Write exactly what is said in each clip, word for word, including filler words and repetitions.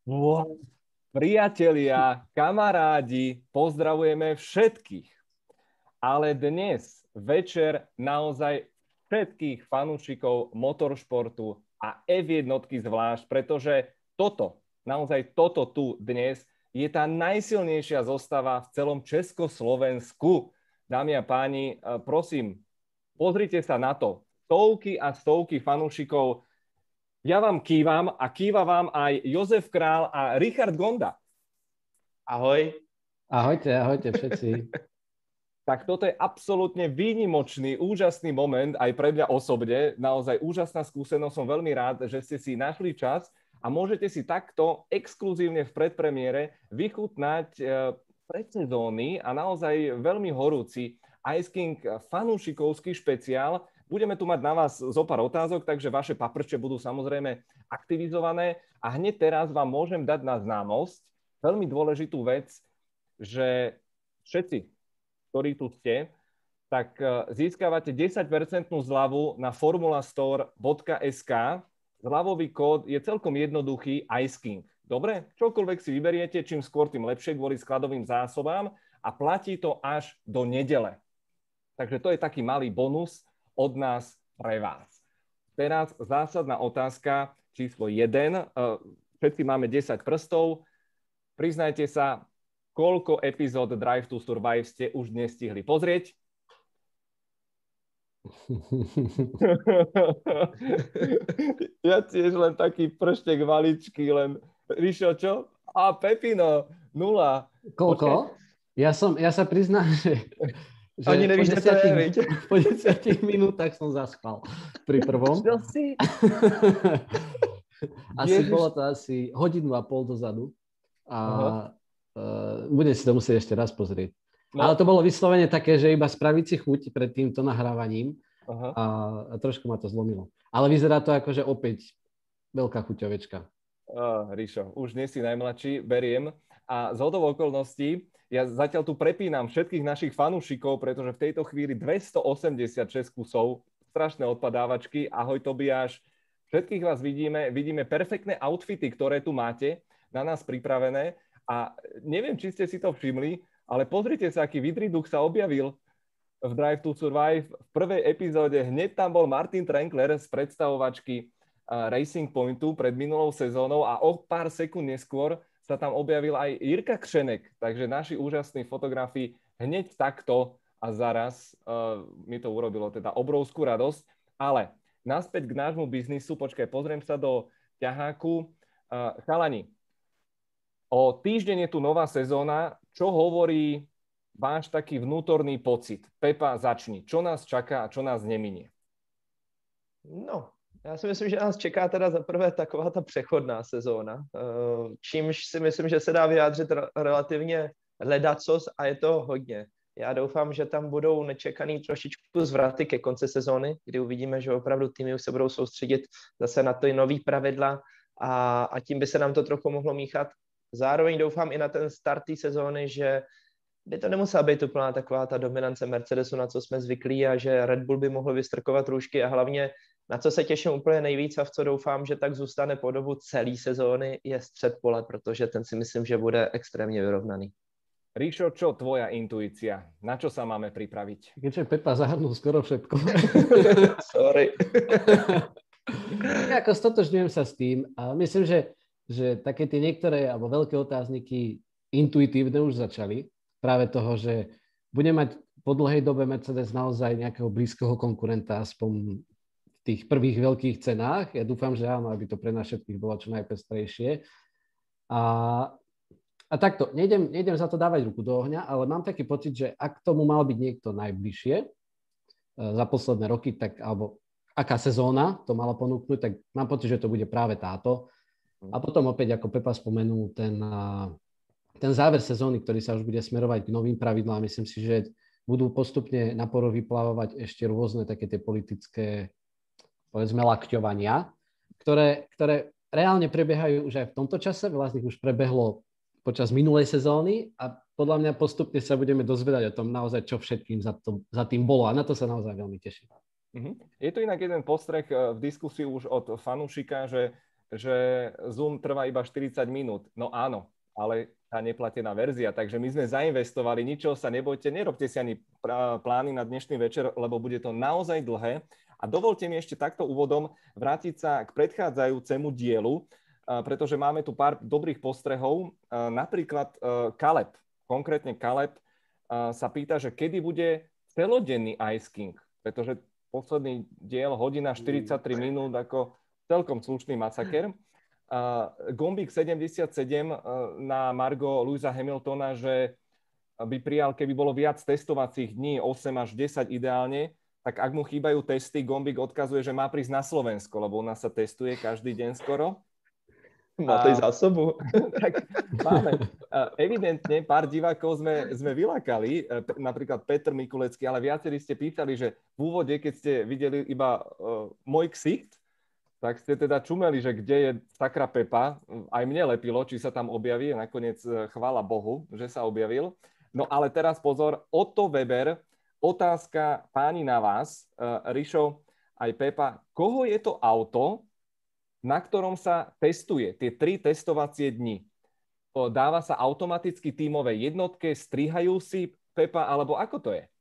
Wow. Priatelia, kamarádi, pozdravujeme všetkých. Ale dnes večer naozaj všetkých fanúšikov motoršportu a ef jednotky zvlášť, pretože toto, naozaj toto tu dnes je tá najsilnejšia zostava v celom Československu. Dámy a páni, prosím, pozrite sa na to. Stovky a stovky fanúšikov. Ja vám kývam a kýva vám aj Jozef Král a Richard Gonda. Ahoj. Ahojte, ahojte všetci. Tak toto je absolútne výnimočný, úžasný moment aj pre mňa osobne. Naozaj úžasná skúsenosť. Som veľmi rád, že ste si našli čas a môžete si takto exkluzívne v predpremiére vychutnať predsezóny a naozaj veľmi horúci Ice King fanúšikovský špeciál. Budeme tu mať na vás zo pár otázok, takže vaše paprče budú samozrejme aktivizované. A hneď teraz vám môžem dať na známosť veľmi dôležitú vec, že všetci, ktorí tu ste, tak získavate desať percent zľavu na formulastore bodka es ká. Zľavový kód je celkom jednoduchý, Ice King. Dobre? Čokoľvek si vyberiete, čím skôr, tým lepšie kvôli skladovým zásobám a platí to až do nedele. Takže to je taký malý bonus od nás pre vás. Teraz zásadná otázka číslo jeden. Všetci máme desať prstov. Priznajte sa, koľko epizód Drive to Survive ste už dnes stihli pozrieť? Ja tiež len taký prštek maličký, len Ríšo, čo? A Pepino, nula. Koľko? Ja, som, ja sa priznám, že... Že Ani nevíš, že to je, viď? Po desiatich minútach som zaspal pri prvom. Čo si? Asi Ježiš. Bolo to asi hodinu a pol dozadu. A uh, budem si to musieť ešte raz pozrieť. No. Ale to bolo vyslovene také, že iba spraviť si chuť pred týmto nahrávaním. Aha. A, a trošku ma to zlomilo. Ale vyzerá to ako, že opäť veľká chuťovečka. Uh, Ríšo, už nie si najmladší, beriem. A z hodou okolností ja zatiaľ tu prepínam všetkých našich fanúšikov, pretože v tejto chvíli dvestoosemdesiatšesť kusov, strašné odpadávačky. Ahoj Tobiáš, všetkých vás vidíme, vidíme perfektné outfity, ktoré tu máte na nás pripravené a neviem, či ste si to všimli, ale pozrite sa, aký vidriduk sa objavil v Drive to Survive. V prvej epizóde hneď tam bol Martin Trankler z predstavovačky Racing Pointu pred minulou sezónou a o pár sekúnd neskôr sa tam objavil aj Jirka Křenek, takže naši úžasní fotografi hneď takto a zaraz uh, mi to urobilo teda obrovskú radosť. Ale naspäť k nášmu biznisu, počkaj, pozriem sa do ťaháku. Uh, chalani, o týždeň je tu nová sezóna. Čo hovorí váš taký vnútorný pocit? Pepa, začni. Čo nás čaká a čo nás neminie? No, já si myslím, že nás čeká teda zaprvé taková ta přechodná sezóna, čímž si myslím, že se dá vyjádřit relativně ledacos a je to hodně. Já doufám, že tam budou nečekaný trošičku zvraty ke konci sezóny, kdy uvidíme, že opravdu týmy už se budou soustředit zase na ty nový pravidla a, a tím by se nám to trochu mohlo míchat. Zároveň doufám i na ten start té sezóny, že by to nemusela být úplná taková ta dominance Mercedesu, na co jsme zvyklí a že Red Bull by mohl vystrkovat růžky a hlavně na co se těším úplně nejvíc a v co doufám, že tak zůstane po dobu celé sezóny, je střed pole, protože ten si myslím, že bude extrémně vyrovnaný. Ríšo, čo tvoja intuícia? Na čo sa máme pripraviť? Keďže Pepa zahrnul skoro všetko. Sorry. Ako stotožňujem sa s tým a myslím, že, že také tie niektoré alebo veľké otázniky intuitívne už začali. Práve toho, že bude mať po dlhej dobe Mercedes naozaj nejakého blízkeho konkurenta aspoň v tých prvých veľkých cenách. Ja dúfam, že áno, aby to pre nás všetkých bolo čo najpestrejšie. A, a takto, nejdem, nejdem za to dávať ruku do ohňa, ale mám taký pocit, že ak tomu mal byť niekto najbližšie za posledné roky, tak, alebo aká sezóna to mala ponúknuť, tak mám pocit, že to bude práve táto. A potom opäť, ako Pepa spomenul, ten, ten záver sezóny, ktorý sa už bude smerovať k novým pravidlám, myslím si, že budú postupne na povrch vyplávať ešte rôzne také tie politické, povedzme, lakťovania, ktoré, ktoré reálne prebiehajú už aj v tomto čase. Veľa z nich už prebehlo počas minulej sezóny a podľa mňa postupne sa budeme dozvedať o tom naozaj, čo všetkým za, to, za tým bolo. A na to sa naozaj veľmi teším. Je tu inak jeden postreh v diskusii už od fanúšika, že že Zoom trvá iba štyridsať minút. No áno, ale tá neplatená verzia, takže my sme zainvestovali, ničoho sa nebojte, nerobte si ani plány na dnešný večer, lebo bude to naozaj dlhé. A dovolte mi ešte takto úvodom vrátiť sa k predchádzajúcemu dielu, pretože máme tu pár dobrých postrehov. Napríklad Kaleb, konkrétne Kaleb sa pýta, že kedy bude celodenný Ice King, pretože posledný diel, hodina štyridsaťtri minút, ako celkom slušný masaker. Uh, Gombík sedemdesiatsedem uh, na margo Lewisa Hamiltona, že by prijal, keby bolo viac testovacích dní, osem až desať ideálne, tak ak mu chýbajú testy, Gombík odkazuje, že má prísť na Slovensko, lebo u nás sa testuje každý deň skoro. Má to i zásobu. Tak máme. Uh, evidentne pár divákov sme, sme vylákali, uh, napríklad Petr Mikulecký, ale viacerí ste pýtali, že v úvode, keď ste videli iba uh, môj ksicht, tak ste teda čumeli, že kde je sakra Pepa. Aj mne lepilo, či sa tam objaví. Nakoniec chvála Bohu, že sa objavil. No ale teraz pozor, Otto Weber, otázka páni na vás. Uh, Rišo, aj Pepa, koho je to auto, na ktorom sa testuje tie tri testovacie dni? Dáva sa automaticky tímové jednotke, strihajú si Pepa, alebo ako to je?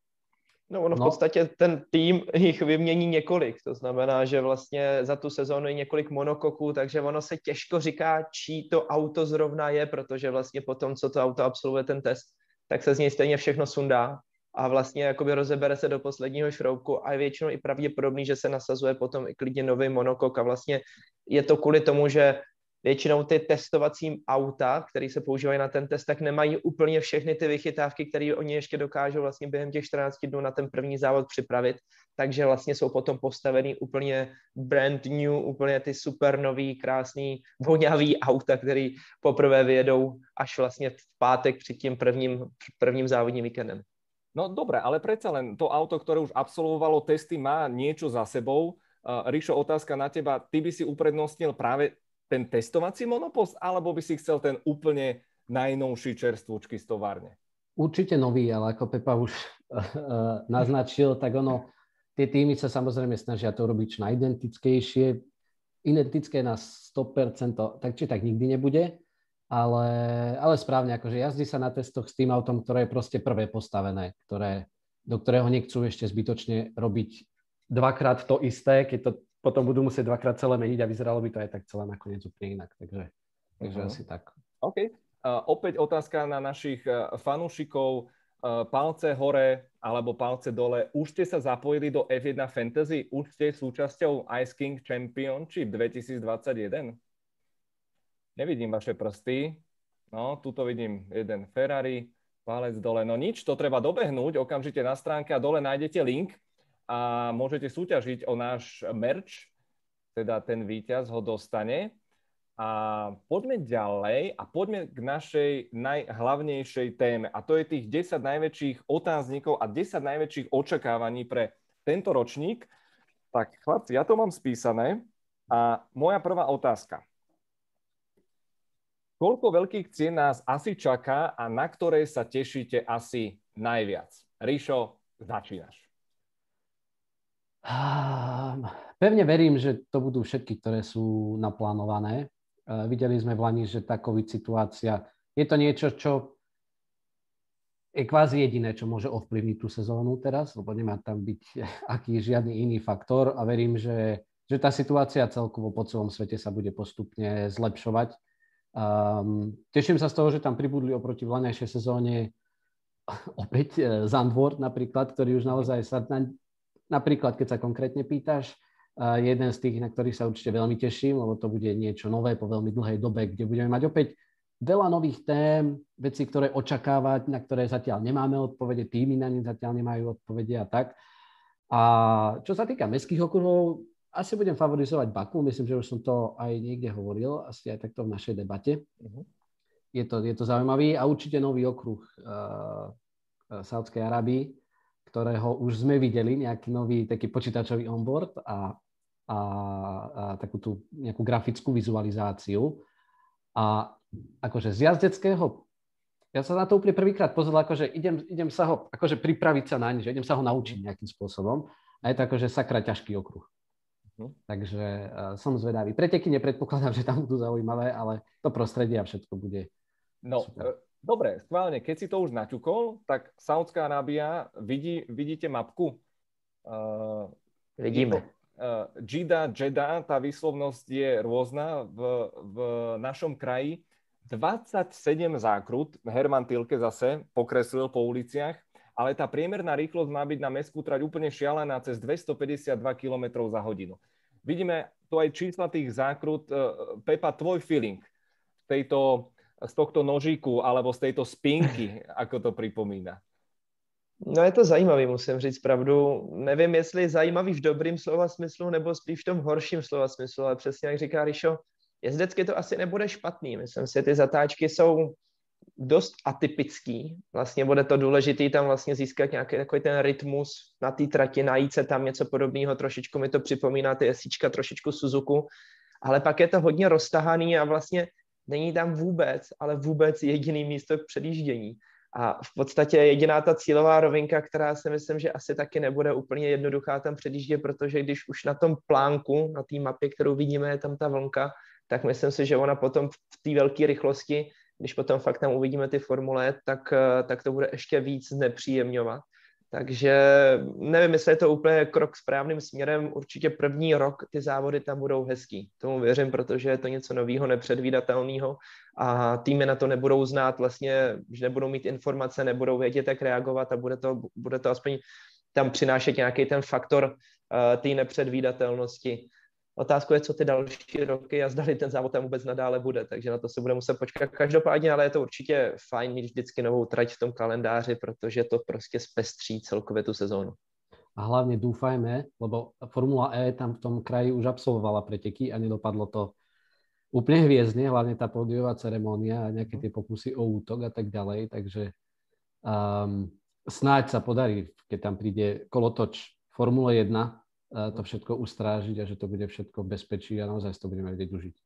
No ono v No. podstatě ten tým jich vymění několik, to znamená, že vlastně za tu sezónu je několik monokoků, takže ono se těžko říká, čí to auto zrovna je, protože vlastně potom, co to auto absolvuje ten test, tak se z něj stejně všechno sundá a vlastně jakoby rozebere se do posledního šroubku a je většinou i pravděpodobný, že se nasazuje potom i klidně nový monokok a vlastně je to kvůli tomu, že většinou ty testovací auta, které se používají na ten test, tak nemají úplně všechny ty vychytávky, které oni ještě dokážou vlastně během těch čtrnácti dnů na ten první závod připravit. Takže vlastně jsou potom postavený úplně brand new, úplně ty super nový, krásný, vonavý auta, který poprvé vyjedou až vlastně v pátek před tím prvním, prvním závodním víkendem. No dobre, ale predsa len to auto, ktoré už absolvovalo testy, má niečo za sebou. Uh, Rišo, otázka na teba. Ty by si uprednostnil práve ten testovací monopost, alebo by si chcel ten úplne najnovší čerstvúčky z továrne? Určite nový, ale ako Pepa už uh, naznačil, tak ono, tie týmy sa samozrejme snažia to robiť čo najdentickejšie. Identické na sto percent, tak či tak nikdy nebude, ale, ale správne, akože jazdí sa na testoch s tým autom, ktoré je proste prvé postavené, ktoré, do ktorého nechcú ešte zbytočne robiť dvakrát to isté, keď to potom budú musieť dvakrát celé meniť a vyzeralo by to aj tak celé nakoniec úplne inak. Takže, takže uh-huh. asi tak. OK. Uh, opäť otázka na našich uh, fanúšikov. Uh, palce hore alebo palce dole. Už ste sa zapojili do ef jeden Fantasy? Už ste súčasťou Ice King Championship dvetisícdvadsaťjeden? Nevidím vaše prsty. No, tuto vidím jeden Ferrari. Palec dole. No nič, to treba dobehnúť. Okamžite na stránke a dole nájdete link. A môžete súťažiť o náš merch, teda ten víťaz ho dostane. A poďme ďalej a poďme k našej najhlavnejšej téme. A to je tých desať najväčších otáznikov a desať najväčších očakávaní pre tento ročník. Tak chlapci, ja to mám spísané. A moja prvá otázka. Koľko veľkých cien nás asi čaká a na ktoré sa tešíte asi najviac? Rišo, začínaš. Pevne verím, že to budú všetky, ktoré sú naplánované. Videli sme v Lani, že tá COVID situácia je to niečo, čo je kvázi jediné, čo môže ovplyvniť tú sezónu teraz, lebo nemá tam byť aký žiadny iný faktor a verím, že, že tá situácia celkovo po celom svete sa bude postupne zlepšovať. Um, teším sa z toho, že tam pribudli oproti vlaňajšej sezóne opäť Zandvoort napríklad, ktorý už naozaj sa na Napríklad, keď sa konkrétne pýtaš, uh, jeden z tých, na ktorých sa určite veľmi teším, lebo to bude niečo nové po veľmi dlhej dobe, kde budeme mať opäť veľa nových tém, veci, ktoré očakávať, na ktoré zatiaľ nemáme odpovede, týmy na ne zatiaľ nemajú odpovede a tak. A čo sa týka mestských okruhov, asi budem favorizovať Baku, myslím, že už som to aj niekde hovoril, asi aj takto v našej debate. Uh-huh. Je to, je to zaujímavý a určite nový okruh uh, Saúdskej Arábii, ktorého už sme videli, nejaký nový taký počítačový onboard a, a, a takú tú nejakú grafickú vizualizáciu. A akože z jazdeckého, ja sa na to úplne prvýkrát pozeral, akože idem, idem sa ho, akože pripraviť sa naň, že idem sa ho naučiť nejakým spôsobom. A je to akože sakra ťažký okruh. Hm. Takže uh, som zvedavý. Preteky nepredpokladám, že tam budú zaujímavé, ale to prostredie a všetko bude no, super. Dobre, schválne, keď si to už naťukol, tak Saudská Arábia, vidí, vidíte mapku? Uh, Vidíme. Uh, Džida, Džeda, tá výslovnosť je rôzna v, v našom kraji. dvadsaťsedem zákrut, Herman Tilke zase pokreslil po uliciach, ale tá priemerná rýchlosť má byť na mestskú trať úplne šialená cez dvestopäťdesiatdva kilometrov za hodinu. Vidíme tu aj čísla tých zákrut. Uh, Pepa, tvoj feeling z, tejto, z tohto nožíku alebo z tejto spinky, ako to pripomína? No je to zajímavý, musím říct pravdu. Nevím, jestli zajímavý v dobrým slova smyslu, nebo spíš v tom horším slova smyslu, ale přesně jak říká Rišo, jezdecky to asi nebude špatný. Myslím si, ty zatáčky jsou dost atypický. Vlastně bude to důležitý tam vlastně získat nějaký takový ten rytmus na té trati, najít se tam něco podobného. Trošičku mi to připomíná ty esíčka, trošičku Suzuku, ale pak je to hodně roztahaný a vlastně není tam vůbec, ale vůbec jediný místo k předjíždění. A v podstatě jediná ta cílová rovinka, která si myslím, že asi taky nebude úplně jednoduchá tam předjíždět, protože když už na tom plánku, na té mapě, kterou vidíme, je tam ta vlnka, tak myslím si, že ona potom v té velké rychlosti, když potom fakt tam uvidíme ty formule, tak, tak to bude ještě víc znepříjemňovat. Takže nevím, jestli je to úplně krok správným směrem. Určitě první rok ty závody tam budou hezký. Tomu věřím, protože je to něco nového, nepředvídatelného a týmy na to nebudou znát vlastně, že nebudou mít informace, nebudou vědět, jak reagovat a bude to, bude to aspoň tam přinášet nějaký ten faktor uh, té nepředvídatelnosti. Otázka je, co ty další roky a zdali ten závod tam vůbec nadále bude, takže na to se bude muset počkat. Každopádně, ale je to určitě fajn mít vždycky novou trať v tom kalendáři, protože to prostě zpestří celkově tu sezónu. A hlavne dúfajme, lebo Formula E tam v tom kraji už absolvovala preteky a nedopadlo to úplne hviezdne, hlavne tá pódiová ceremónia a nejaké tie pokusy o útok a tak ďalej, takže um, snáď sa podarí, keď tam príde kolotoč Formule jedna, to všetko ustrážiť a že to bude všetko v bezpečí a naozaj to budeme vedieť užiť.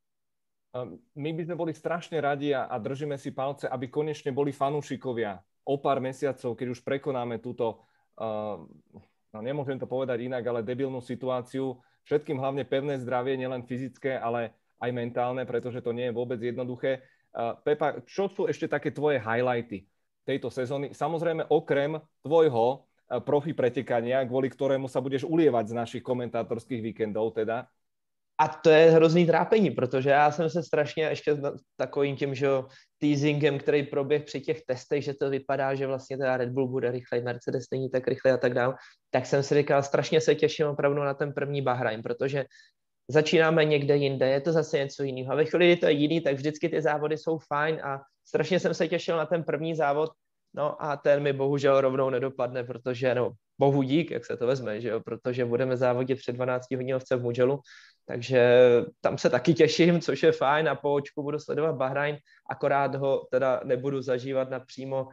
My by sme boli strašne radi a, a držíme si palce, aby konečne boli fanúšikovia o pár mesiacov, keď už prekonáme túto, uh, no nemôžem to povedať inak, ale debilnú situáciu. Všetkým hlavne pevné zdravie, nielen fyzické, ale aj mentálne, pretože to nie je vôbec jednoduché. Uh, Pepa, čo sú ešte také tvoje highlighty tejto sezóny? Samozrejme, okrem tvojho profi pretekania, kvôli ktorému sa budeš ulievať z našich komentátorských víkendov teda. A to je hrozný trápení, protože já jsem se strašně ještě takovým tím, že teasingem, který proběh při těch testech, že to vypadá, že vlastně teda Red Bull bude rychlej, Mercedes není tak rychlej a tak dále, tak jsem si říkal, strašně se těším opravdu na ten první Bahrajn, protože začínáme někde jinde, je to zase něco jiného. A ve chvíli, kdy to je jiný, tak vždycky ty závody jsou fajn a strašně jsem se těšil na ten první závod. No a ten mi bohužel rovnou nedopadne, protože, no, bohu dík, jak se to vezme, že jo, protože budeme závodit před dvanácti hodinovce v Mugellu, takže tam se taky těším, což je fajn a po očku budu sledovat Bahrajn, akorát ho teda nebudu zažívat napřímo uh,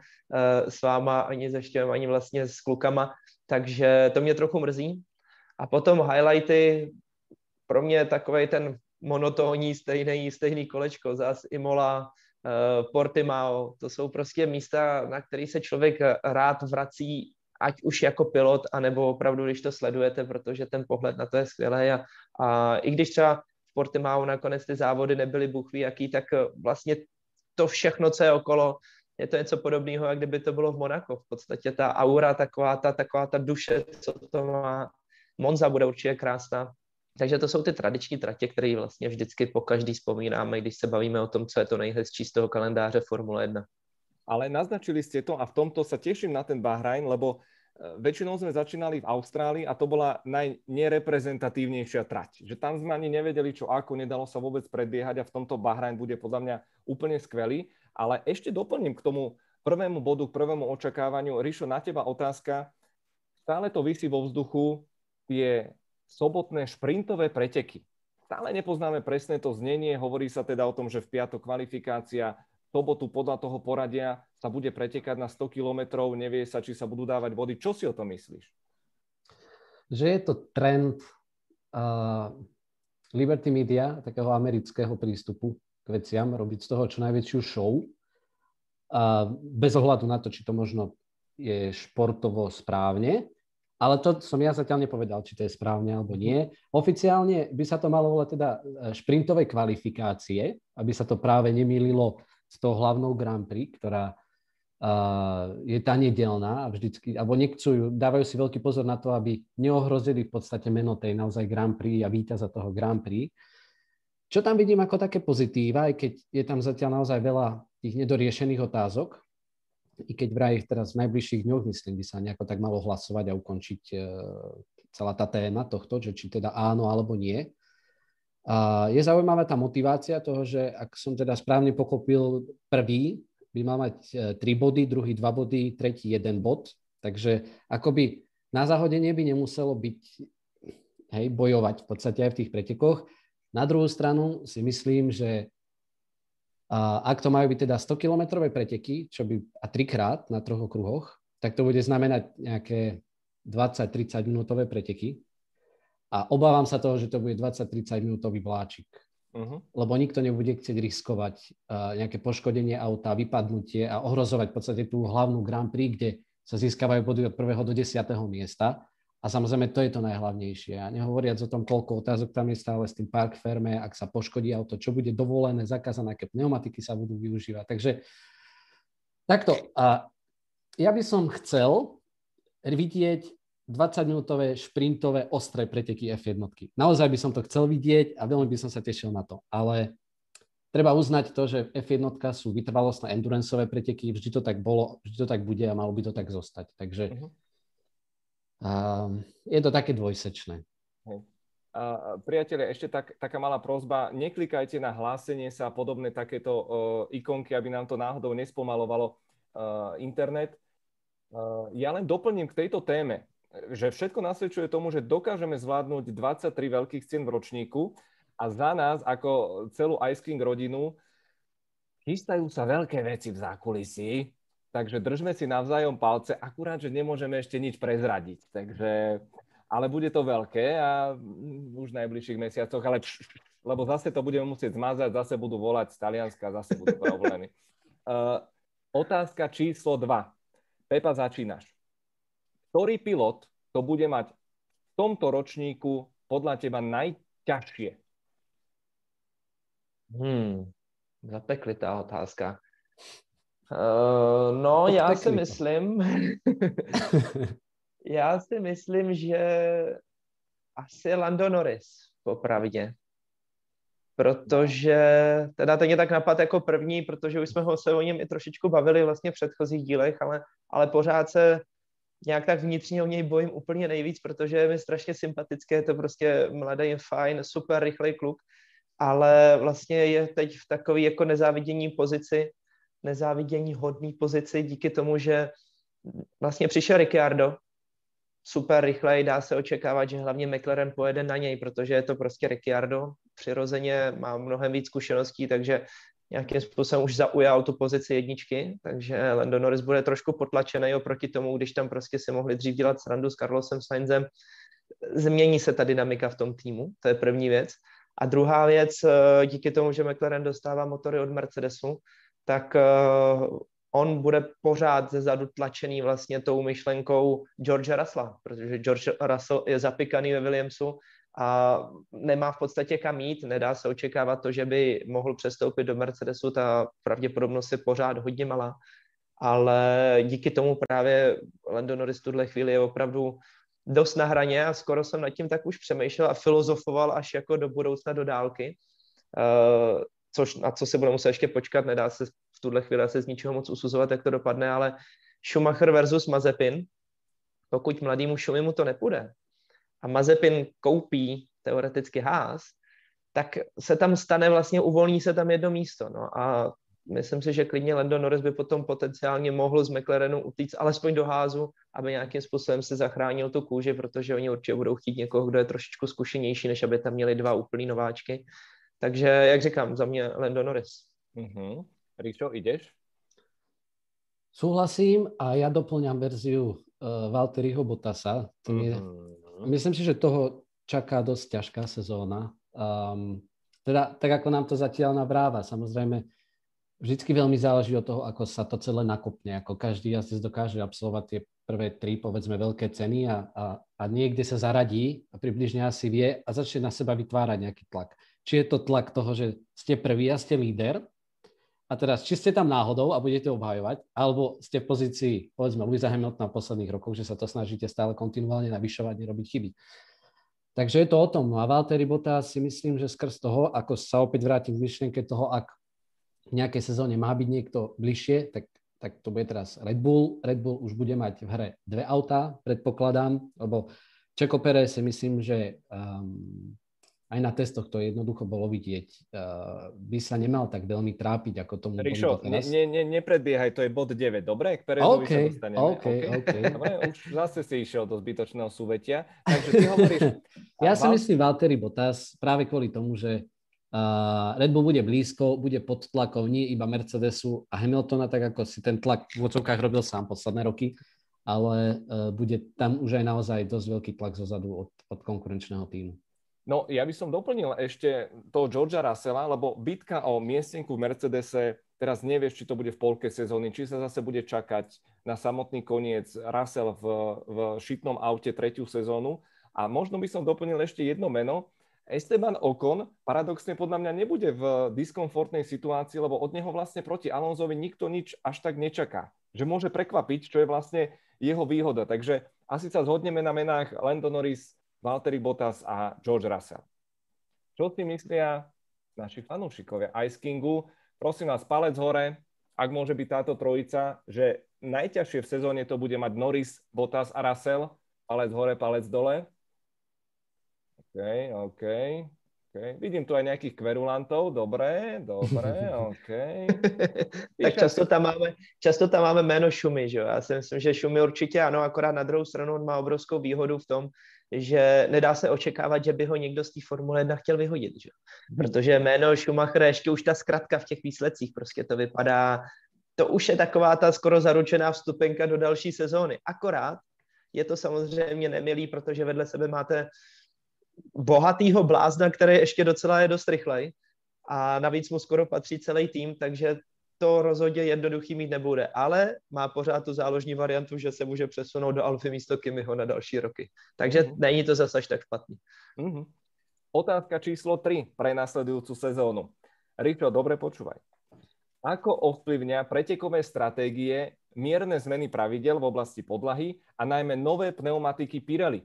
s váma, ani se Štěvem, ani vlastně s klukama, takže to mě trochu mrzí. A potom highlighty, pro mě takovej ten monotónní stejný, stejný kolečko, zás Imola, Portimao, to jsou prostě místa, na které se člověk rád vrací, ať už jako pilot, anebo opravdu, když to sledujete, protože ten pohled na to je skvělý. A, a i když třeba v Portimao nakonec ty závody nebyly bůh ví jaký, tak vlastně to všechno, co je okolo, je to něco podobného, jak kdyby to bylo v Monaku. V podstatě ta aura, taková ta, taková ta duše, co to má. Monza bude určitě krásná. Takže to jsou ty tradiční tratě, které vlastně vždycky po každý vzpomínáme, když se bavíme o tom, co je to nejhezčí z toho kalendáře Formule jedna. Ale naznačili ste to a v tomto sa teším na ten Bahrajn, lebo väčšinou sme začínali v Austrálii a to bola najnereprezentatívnejšia trať. Že tam sme ani nevedeli, čo ako, nedalo sa vôbec predbiehať a v tomto Bahrajn bude podľa mňa úplne skvelý. Ale ešte doplním k tomu prvému bodu, k prvému očakávaniu. Rišo, na teba otázka. Stále to visí vo vzduchu, tie sobotné šprintové preteky. Stále nepoznáme presné to znenie, hovorí sa teda o tom, že v piatok kvalifikácia, v sobotu podľa toho poradia sa bude pretekať na sto kilometrov, nevie sa, či sa budú dávať body. Čo si o tom myslíš? Že je to trend uh, Liberty Media, takého amerického prístupu k veciam, robiť z toho čo najväčšiu show. Uh, bez ohľadu na to, či to možno je športovo správne, ale to som ja zatiaľ nepovedal, či to je správne alebo nie. Oficiálne by sa to malo volať teda šprintové kvalifikácie, aby sa to práve nemýlilo s tou hlavnou Grand Prix, ktorá uh, je tá nedelná a vždycky, alebo nechcú, dávajú si veľký pozor na to, aby neohrozili v podstate meno tej naozaj Grand Prix a víťaza toho Grand Prix. Čo tam vidím ako také pozitíva, aj keď je tam zatiaľ naozaj veľa tých nedoriešených otázok, i keď vraj teraz v najbližších dňoch, myslím, by sa nejako tak malo hlasovať a ukončiť uh, celá tá téma tohto, že či teda áno alebo nie. A je zaujímavá tá motivácia toho, že ak som teda správne pochopil, prvý by mal mať tri body, druhý dva body, tretí jeden bod. Takže akoby na zahodenie by nemuselo byť, hej, bojovať v podstate aj v tých pretekoch. Na druhú stranu si myslím, že a ak to majú byť teda stokilometrové preteky, čo by a trikrát na troch okruhoch, tak to bude znamenať nejaké dvadsať tridsať minútové preteky. A obávam sa toho, že to bude dvadsať tridsať minútový vláčik. Uh-huh. Lebo nikto nebude chcieť riskovať uh, nejaké poškodenie auta, vypadnutie a ohrozovať v podstate tú hlavnú Grand Prix, kde sa získavajú body od prvého do desiateho miesta. A samozrejme, to je to najhlavnejšie. A nehovoriac o tom, koľko otázok tam je stále s tým park ferme, ak sa poškodí auto, čo bude dovolené, zakázané, aké pneumatiky sa budú využívať. Takže takto. A ja by som chcel vidieť dvadsaťminútové šprintové ostré preteky ef jedna. Naozaj by som to chcel vidieť a veľmi by som sa tešil na to. Ale treba uznať to, že ef jedna sú vytrvalostné enduranceové preteky. Vždy to tak bolo, vždy to tak bude a malo by to tak zostať. Takže uh-huh. Um, je to také dvojsečné. Uh, priatelia, ešte tak, taká malá prosba, neklikajte na hlásenie sa a podobné takéto uh, ikonky, aby nám to náhodou nespomalovalo uh, internet. Uh, ja len doplním k tejto téme, že všetko nasvedčuje tomu, že dokážeme zvládnuť dvadsaťtri veľkých cien v ročníku a za nás, ako celú Ice King rodinu, chystajú sa veľké veci v zákulisí. Takže držme si navzájom palce, akurát, že nemôžeme ešte nič prezradiť. Takže, ale bude to veľké a už v najbližších mesiacoch, ale pš, pš, lebo zase to budeme musieť zmazať, zase budú volať z Talianska, zase budú problémy. Uh, otázka číslo dva. Pepa, začínaš. Ktorý pilot to bude mať v tomto ročníku podľa teba najťažšie? Hmm, zapeklitá otázka. Uh, no, já si myslím, já si myslím, že asi Lando Norris, popravdě. Protože, teda to mě tak napadl jako první, protože už jsme ho se o něm i trošičku bavili vlastně v předchozích dílech, ale, ale pořád se nějak tak vnitřně o něj bojím úplně nejvíc, protože je mi strašně sympatické, je to prostě mladý, fajn, super rychlej kluk, ale vlastně je teď v takové jako nezávidění pozici, nezávidění hodný pozici díky tomu, že vlastně přišel Ricciardo, super rychlej, dá se očekávat, že hlavně McLaren pojede na něj, protože je to prostě Ricciardo, přirozeně má mnohem víc zkušeností, takže nějakým způsobem už zaujal tu pozici jedničky, takže Lando Norris bude trošku potlačený oproti tomu, když tam prostě si mohli dřív dělat srandu s Carlosem Sainzem. Změní se ta dynamika v tom týmu, to je první věc. A druhá věc, díky tomu, že McLaren dostává motory od Mercedesu, tak uh, on bude pořád zezadu tlačený vlastně tou myšlenkou George Russella, protože George Russell je zapikaný ve Williamsu a nemá v podstatě kam jít, nedá se očekávat to, že by mohl přestoupit do Mercedesu, ta pravděpodobnost je pořád hodně malá, ale díky tomu právě Lando Norris v tuhle chvíli je opravdu dost na hraně a skoro jsem nad tím tak už přemýšlel a filozofoval až jako do budoucna do dálky. Uh, což, na co se bude muset ještě počkat, nedá se v tuhle chvíli se z ničeho moc usuzovat, jak to dopadne, ale Schumacher versus Mazepin, pokud mladýmu Schumimu to nepůjde a Mazepin koupí teoreticky Haas, tak se tam stane vlastně, uvolní se tam jedno místo. No a myslím si, že klidně Lando Norris by potom potenciálně mohl z McLarenu utíct alespoň do Haasu, aby nějakým způsobem si zachránil tu kůži, protože oni určitě budou chtít někoho, kdo je trošičku zkušenější, než aby tam měli dva úplný nováčky. Takže, jak říkám, za mě Lando Norris. Uh-huh. Ričo, ideš? Súhlasím a ja doplňam verziu uh, Valtteriho Bottasa. Je, uh-huh. Myslím si, že toho čaká dosť ťažká sezóna. Um, teda, tak ako nám to zatiaľ nabráva. Samozrejme, vždycky veľmi záleží od toho, ako sa to celé nakopne. Ako každý jazdec dokáže absolvovať tie prvé tri, povedzme, veľké ceny a, a, a niekde sa zaradí a približne asi vie a začne na seba vytvárať nejaký tlak. Či je to tlak toho, že ste prvý a ste líder a teraz, či ste tam náhodou a budete obhajovať, alebo ste v pozícii, povedzme, Lewisa Hamiltona v posledných rokoch, že sa to snažíte stále kontinuálne navyšovať, nerobiť chyby. Takže je to o tom. No a Valtteri Bottas si myslím, že skrz toho, ako sa opäť vrátim k myšlienke toho, ak v nejakej sezóne má byť niekto bližšie, tak tak to bude teraz Red Bull. Red Bull už bude mať v hre dve autá, predpokladám, lebo Checo Pérez si myslím, že um, aj na testoch to jednoducho bolo vidieť. Uh, by sa nemal tak veľmi trápiť, ako tomu Rišo, bolo teraz. Ne, ne, nepredbiehaj, to je bod deväť, dobre? K Pérezovi okay, sa dostaneme. OK, OK. Dobre, už zase si išiel do zbytočného súvetia. Takže ty hovoríš... Ja si myslím Valtteri Bottas práve kvôli tomu, že Uh, Red Bull bude blízko, bude pod tlakom nie iba Mercedesu a Hamiltona, tak ako si ten tlak v odzovkách robil sám posledné roky, ale uh, bude tam už aj naozaj dosť veľký tlak zozadu od, od konkurenčného týmu. No, ja by som doplnil ešte toho Georgea Russella, lebo bitka o miestenku v Mercedese, teraz nevieš, či to bude v polke sezóny, či sa zase bude čakať na samotný koniec Russell v, v šitnom aute tretiu sezónu. A možno by som doplnil ešte jedno meno, Esteban Ocon paradoxne podľa mňa nebude v diskomfortnej situácii, lebo od neho vlastne proti Alonsovi nikto nič až tak nečaká. Že môže prekvapiť, čo je vlastne jeho výhoda. Takže asi sa zhodneme na menách Lando Norris, Valtteri Bottas a George Russell. Čo si myslia naši fanúšikovia Ice Kingu? Prosím vás, palec hore, ak môže byť táto trojica, že najťažšie v sezóne to bude mať Norris, Bottas a Russell. Palec hore, palec dole. OK, OK, OK. Vidím tu aj nejakých kverulantov. Dobre, dobre, OK. Tak často tam, máme, často tam máme jméno Šumy, že jo? Já si myslím, že Šumy určitě ano, akorát na druhou stranu on má obrovskou výhodu v tom, že nedá se očekávat, že by ho někdo z té Formule jedna chtěl vyhodit, že jo? Protože jméno Schumacher, ještě už ta zkratka v těch výsledcích, prostě to vypadá, to už je taková ta skoro zaručená vstupenka do další sezóny. Akorát je to samozřejmě nemilý, protože vedle sebe máte bohatýho blázna, který ještě docela je dost rychlej a navíc mu skoro patří celý tým, takže to rozhodně jednoduchý mít nebude, ale má pořád tu záložní variantu, že se může přesunout do Alfy místo Kimiho na další roky. Takže mm-hmm. není to zase až tak špatný. Mm-hmm. Otázka číslo tri pre nasledujúcu sezónu. Richo, dobre počúvaj. Ako ovplyvňa pretekové stratégie mierne zmeny pravidel v oblasti podlahy a najmä nové pneumatiky Pirelli?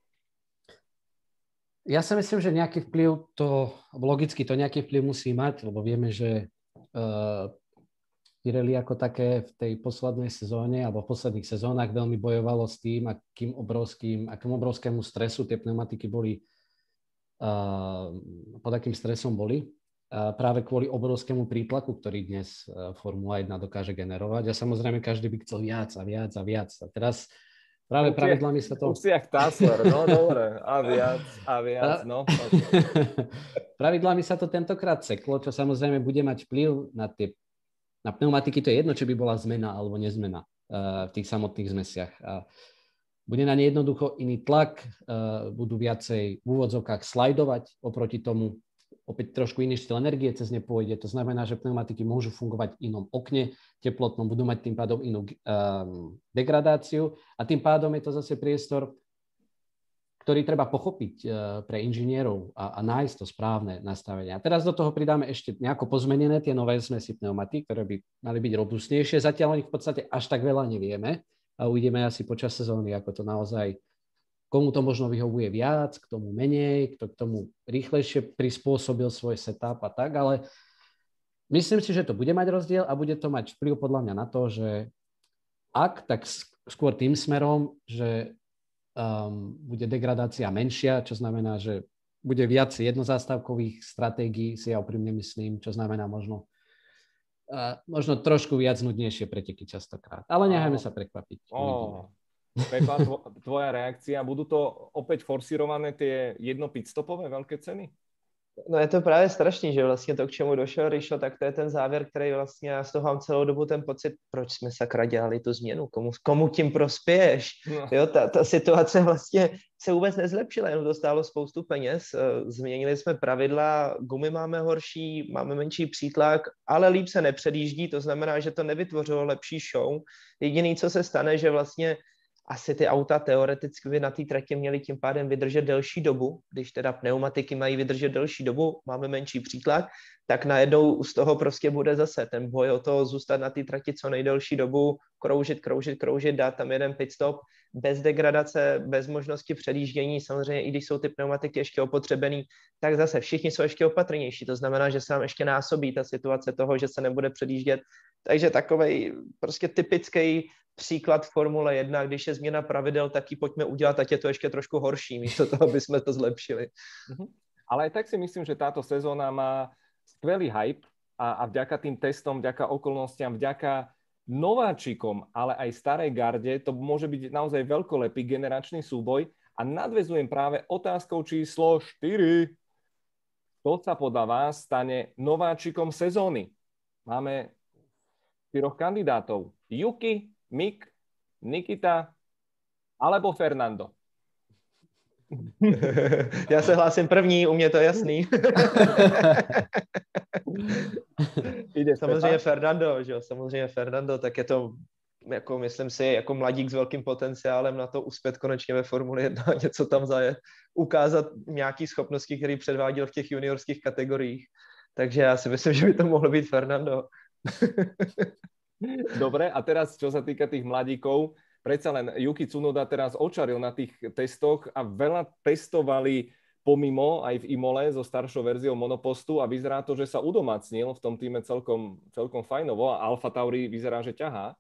Ja si myslím, že nejaký vplyv to, logicky to nejaký vplyv musí mať, lebo vieme, že uh, Pirelli ako také v tej poslednej sezóne alebo v posledných sezónach veľmi bojovalo s tým, akým obrovským, akým obrovskému stresu tie pneumatiky boli, uh, pod akým stresom boli. Uh, práve kvôli obrovskému prítlaku, ktorý dnes uh, Formula jedna dokáže generovať. A samozrejme každý by chcel viac a viac a viac. A teraz práve pravidlami sa to... Už si jak Tassler, no dobre. A viac, a viac, no. Pravidlami sa to tentokrát seklo, čo samozrejme bude mať vplyv na tie na pneumatiky. To je jedno, či by bola zmena alebo nezmena uh, v tých samotných zmesiach. Uh, bude na ne jednoducho iný tlak, uh, budú viacej v úvodzovkách slajdovať oproti tomu. Opäť trošku iný štýl energie cez ne pôjde. To znamená, že pneumatiky môžu fungovať v inom okne teplotnom, budú mať tým pádom inú um, degradáciu a tým pádom je to zase priestor, ktorý treba pochopiť uh, pre inžinierov a, a nájsť to správne nastavenie. A teraz do toho pridáme ešte nejako pozmenené tie nové zmesy pneumatík, ktoré by mali byť robustnejšie. Zatiaľ o nich v podstate až tak veľa nevieme a uvidíme asi počas sezóny, ako to naozaj, komu to možno vyhovuje viac, k tomu menej, kto k tomu rýchlejšie prispôsobil svoj setup a tak, ale myslím si, že to bude mať rozdiel a bude to mať vplyv podľa mňa na to, že ak, tak skôr tým smerom, že um, bude degradácia menšia, čo znamená, že bude viac jednozástavkových stratégií, si ja úprimne myslím, čo znamená možno, uh, možno trošku viac nudnejšie preteky častokrát. Ale nechajme sa prekvapiť. Oh. Pekla, tvoja reakcia. Budú to opäť forsírované tie jedno pitstopové veľké ceny? No je to právě strašný, že vlastně to, k čemu došel Rišo, tak to je ten závěr, který vlastně já z toho mám celou dobu ten pocit, proč jsme sakra dělali tu změnu, komu, komu tím prospěješ. No. Jo, ta, ta situace vlastně se vůbec nezlepšila, jenom to stálo spoustu peněz, změnili jsme pravidla, gumy máme horší, máme menší přítlak, ale líp se nepředjíždí, to znamená, že to nevytvořilo lepší show. Jediný, co se stane, že vlastně asi ty auta teoreticky by na té trati měly tím pádem vydržet delší dobu, když teda pneumatiky mají vydržet delší dobu, máme menší přítlak, tak najednou z toho prostě bude zase ten boj o to zůstat na té trati co nejdelší dobu, kroužit, kroužit, kroužit, dát tam jeden pit stop, bez degradace, bez možnosti předjíždění, samozřejmě i když jsou ty pneumatiky ještě opotřebený, tak zase všichni jsou ještě opatrnější, to znamená, že se nám ještě násobí ta situace toho, že se nebude předjíždět, takže takovej prostě typický příklad Formule jedna, když je změna pravidel, tak ji pojďme udělat, ať je to ještě trošku horší, místo toho, aby jsme to zlepšili. Ale aj tak si myslím, že táto sezóna má skvelý hype a, a vďaka tým testom, vďaka okolnostiam, vďaka nováčikom, ale aj starej garde, to môže byť naozaj veľkolepý generačný súboj a nadväzujem práve otázkou číslo štyri. Kto sa podľa vás stane nováčikom sezóny? Máme štyroch kandidátov. Yuki, Mick, Nikita alebo Fernando. Já se hlásím první, u mě to je jasný. Samozřejmě Fernando, že jo? Samozřejmě Fernando, tak je to, jako myslím si, jako mladík s velkým potenciálem na to uspět konečně ve Formuli jedna, něco tam zajet, ukázat nějaký schopnosti, které předváděl v těch juniorských kategoriích. Takže já si myslím, že by to mohlo být Fernando. Dobre, a teraz, čo sa týka tých mladíkov, predsa len Yuki Tsunoda teraz očaril na tých testoch a veľa testovali pomimo aj v Imole so staršou verziou monopostu a vyzerá to, že sa udomácnil v tom týme celkom, celkom fajnovo a Alfa Tauri vyzerá, že ťahá.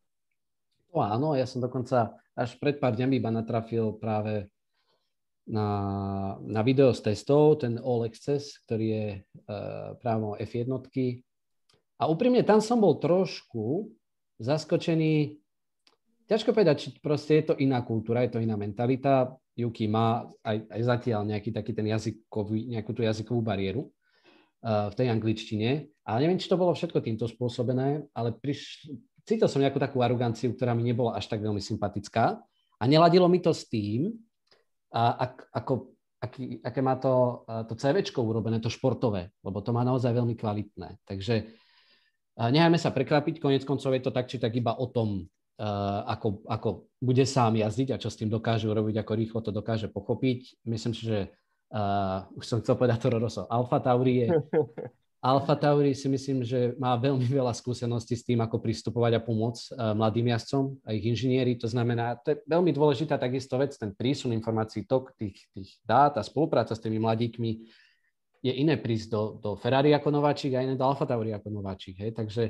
No áno, ja som dokonca až pred pár dňami iba natrafil práve na, na video z testov, ten All Access, ktorý je uh, práve F jedna. A úprimne tam som bol trošku zaskočený. Ťažko povedať, či proste je to iná kultúra, je to iná mentalita. Yuki má aj, aj zatiaľ nejaký taký ten jazykový, nejakú tú jazykovú bariéru uh, v tej angličtine. Ale neviem, či to bolo všetko týmto spôsobené, ale priš... cítil som nejakú takú aroganciu, ktorá mi nebola až tak veľmi sympatická. A neladilo mi to s tým, uh, ak, ako, aký, aké má to, uh, to CVčko urobené, to športové, lebo to má naozaj veľmi kvalitné. Takže nechajme sa prekvapiť, konec koncov je to tak, či tak iba o tom, uh, ako, ako bude sám jazdiť a čo s tým dokáže urobiť, ako rýchlo to dokáže pochopiť. Myslím si, že uh, už som chcel povedať Toro Rosso. Alfa Tauri je... Alfa Tauri si myslím, že má veľmi veľa skúseností s tým, ako pristupovať a pomôcť uh, mladým jazdcom a ich inžinieri. To znamená, to je veľmi dôležitá takisto vec, ten prísun informácií, tok tých, tých dát a spolupráca s tými mladíkmi je iné prísť do, do Ferrari ako nováčik a iné do Alfa Tauri ako nováčik. Hej? Takže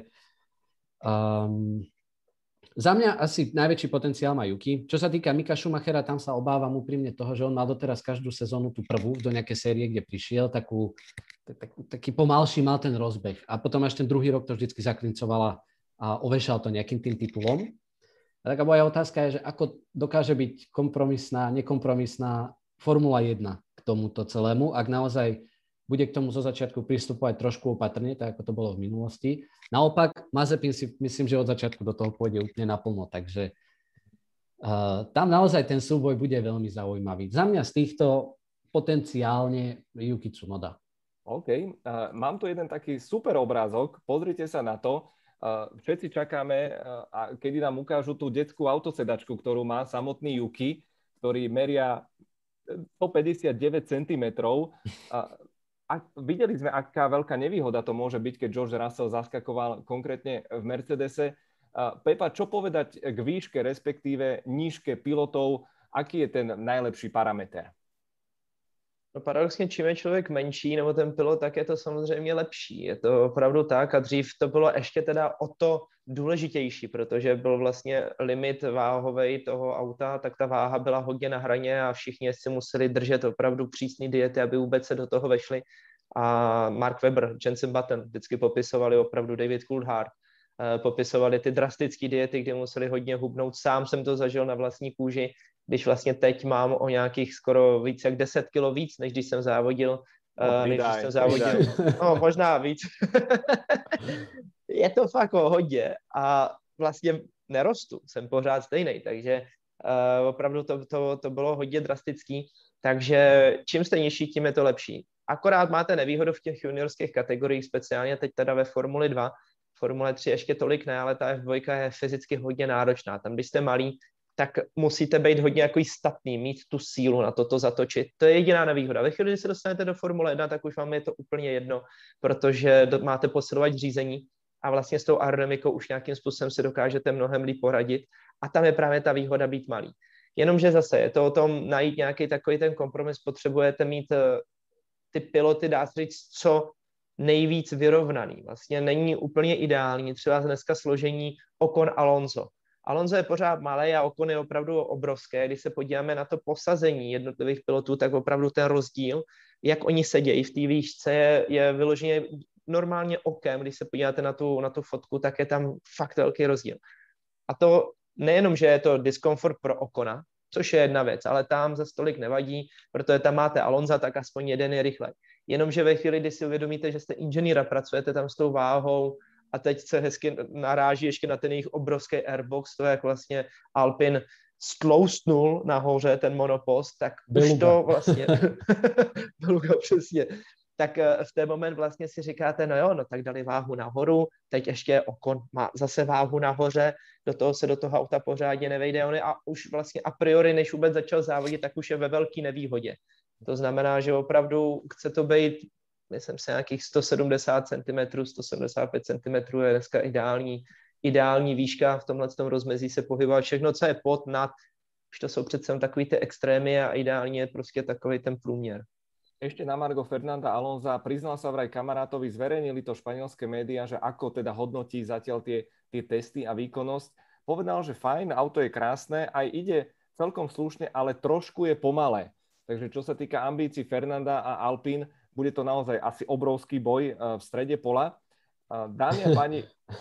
um, za mňa asi najväčší potenciál má Yuki. Čo sa týka Mika Schumachera, tam sa obávam úprimne toho, že on mal doteraz každú sezónu tú prvú do nejakej série, kde prišiel, takú, takú, taký pomalší mal ten rozbeh. A potom až ten druhý rok to vždycky zaklincovala a ovešal to nejakým tým titulom. A taká moja otázka je, že ako dokáže byť kompromisná, nekompromisná Formula jedna k tomuto celému, ak naozaj bude k tomu zo začiatku pristupovať trošku opatrne, tak ako to bolo v minulosti. Naopak, Mazepin si myslím, že od začiatku do toho pôjde úplne naplno, takže uh, tam naozaj ten súboj bude veľmi zaujímavý. Za mňa z týchto potenciálne Yuki Tsunoda. OK, uh, mám tu jeden taký super obrázok, pozrite sa na to. Uh, všetci čakáme, uh, a kedy nám ukážu tú detskú autosedačku, ktorú má samotný Yuki, ktorý meria stopäťdesiatdeväť centimetrov. Uh, A videli sme, aká veľká nevýhoda to môže byť, keď George Russell zaskakoval konkrétne v Mercedese. Pepa, čo povedať k výške, respektíve nížke pilotov? Aký je ten najlepší parameter? No paradoxně, čím je člověk menší, nebo ten pilot, tak je to samozřejmě lepší. Je to opravdu tak a dřív to bylo ještě teda o to důležitější, protože byl vlastně limit váhovej toho auta, tak ta váha byla hodně na hraně a všichni si museli držet opravdu přísné diety, aby vůbec se do toho vešli. A Mark Webber, Jenson Button vždycky popisovali opravdu David Coulthard, popisovali ty drastické diety, kde museli hodně hubnout. Sám jsem to zažil na vlastní kůži, když vlastně teď mám o nějakých skoro víc jak deset kilo víc, než když jsem závodil. No, než když jsem závodil. No, možná víc. Je to fakt hodně a vlastně nerostu, jsem pořád stejný, takže uh, opravdu to, to, to bylo hodně drastický, takže čím jste nižší, tím je to lepší. Akorát máte nevýhodu v těch juniorských kategoriích, speciálně teď teda ve Formuli dva, Formule tři ještě tolik ne, ale ta F dva je fyzicky hodně náročná. Tam, když jste malí, tak musíte být hodně jako statný, mít tu sílu na to, to zatočit. To je jediná nevýhoda. Ve chvíli, kdy se dostanete do Formule jedna, tak už vám je to úplně jedno, protože máte posilovač řízení a vlastně s tou aerodynamikou už nějakým způsobem si dokážete mnohem líp poradit a tam je právě ta výhoda být malý. Jenomže zase je to o tom najít nějaký takový ten kompromis, potřebujete mít ty piloty, dá se říct, co nejvíc vyrovnaný. Vlastně není úplně ideální, třeba dneska složení Ocon-Alonso. Alonso je pořád malý a Ocon je opravdu obrovské. Když se podíváme na to posazení jednotlivých pilotů, tak opravdu ten rozdíl, jak oni sedějí v té výšce, je, je vyloženě normálně okem. Když se podíváte na tu, na tu fotku, tak je tam fakt velký rozdíl. A to nejenom, že je to diskomfort pro Ocona, což je jedna věc, ale tam za stolik nevadí, protože tam máte Alonza, tak aspoň jeden je rychlej. Jenomže ve chvíli, kdy si uvědomíte, že jste inženýr a pracujete tam s tou váhou a teď se hezky naráží ještě na ten jejich obrovský airbox, to jak vlastně Alpin stloustnul nahoře ten monopost, tak Beluga. Už to vlastně... Beluga, přesně. Tak v ten moment vlastně si říkáte, no jo, no tak dali váhu nahoru, teď ještě Ocon má zase váhu nahoře, do toho se do toho auta pořádně nevejde, on je a už vlastně a priori, než vůbec začal závodit, tak už je ve velké nevýhodě. To znamená, že opravdu chce to být, myslím si, nějakých sto sedmdesát centimetrů, sto sedmdesát pět centimetrů je dneska ideální, ideální výška v tomhle tom rozmezí se pohybovat. Všechno, co je pod, nad, už to jsou přece takový ty extrémy a ideálně je prostě takový ten průměr. Ešte na margo Fernanda Alonza, priznal sa vraj kamarátovi, zverejnili to španielské médiá, že ako teda hodnotí zatiaľ tie, tie testy a výkonnosť. Povedal, že fajn, auto je krásne, aj ide celkom slušne, ale trošku je pomalé. Takže čo sa týka ambícií Fernanda a Alpín, bude to naozaj asi obrovský boj v strede pola. Dámy a páni...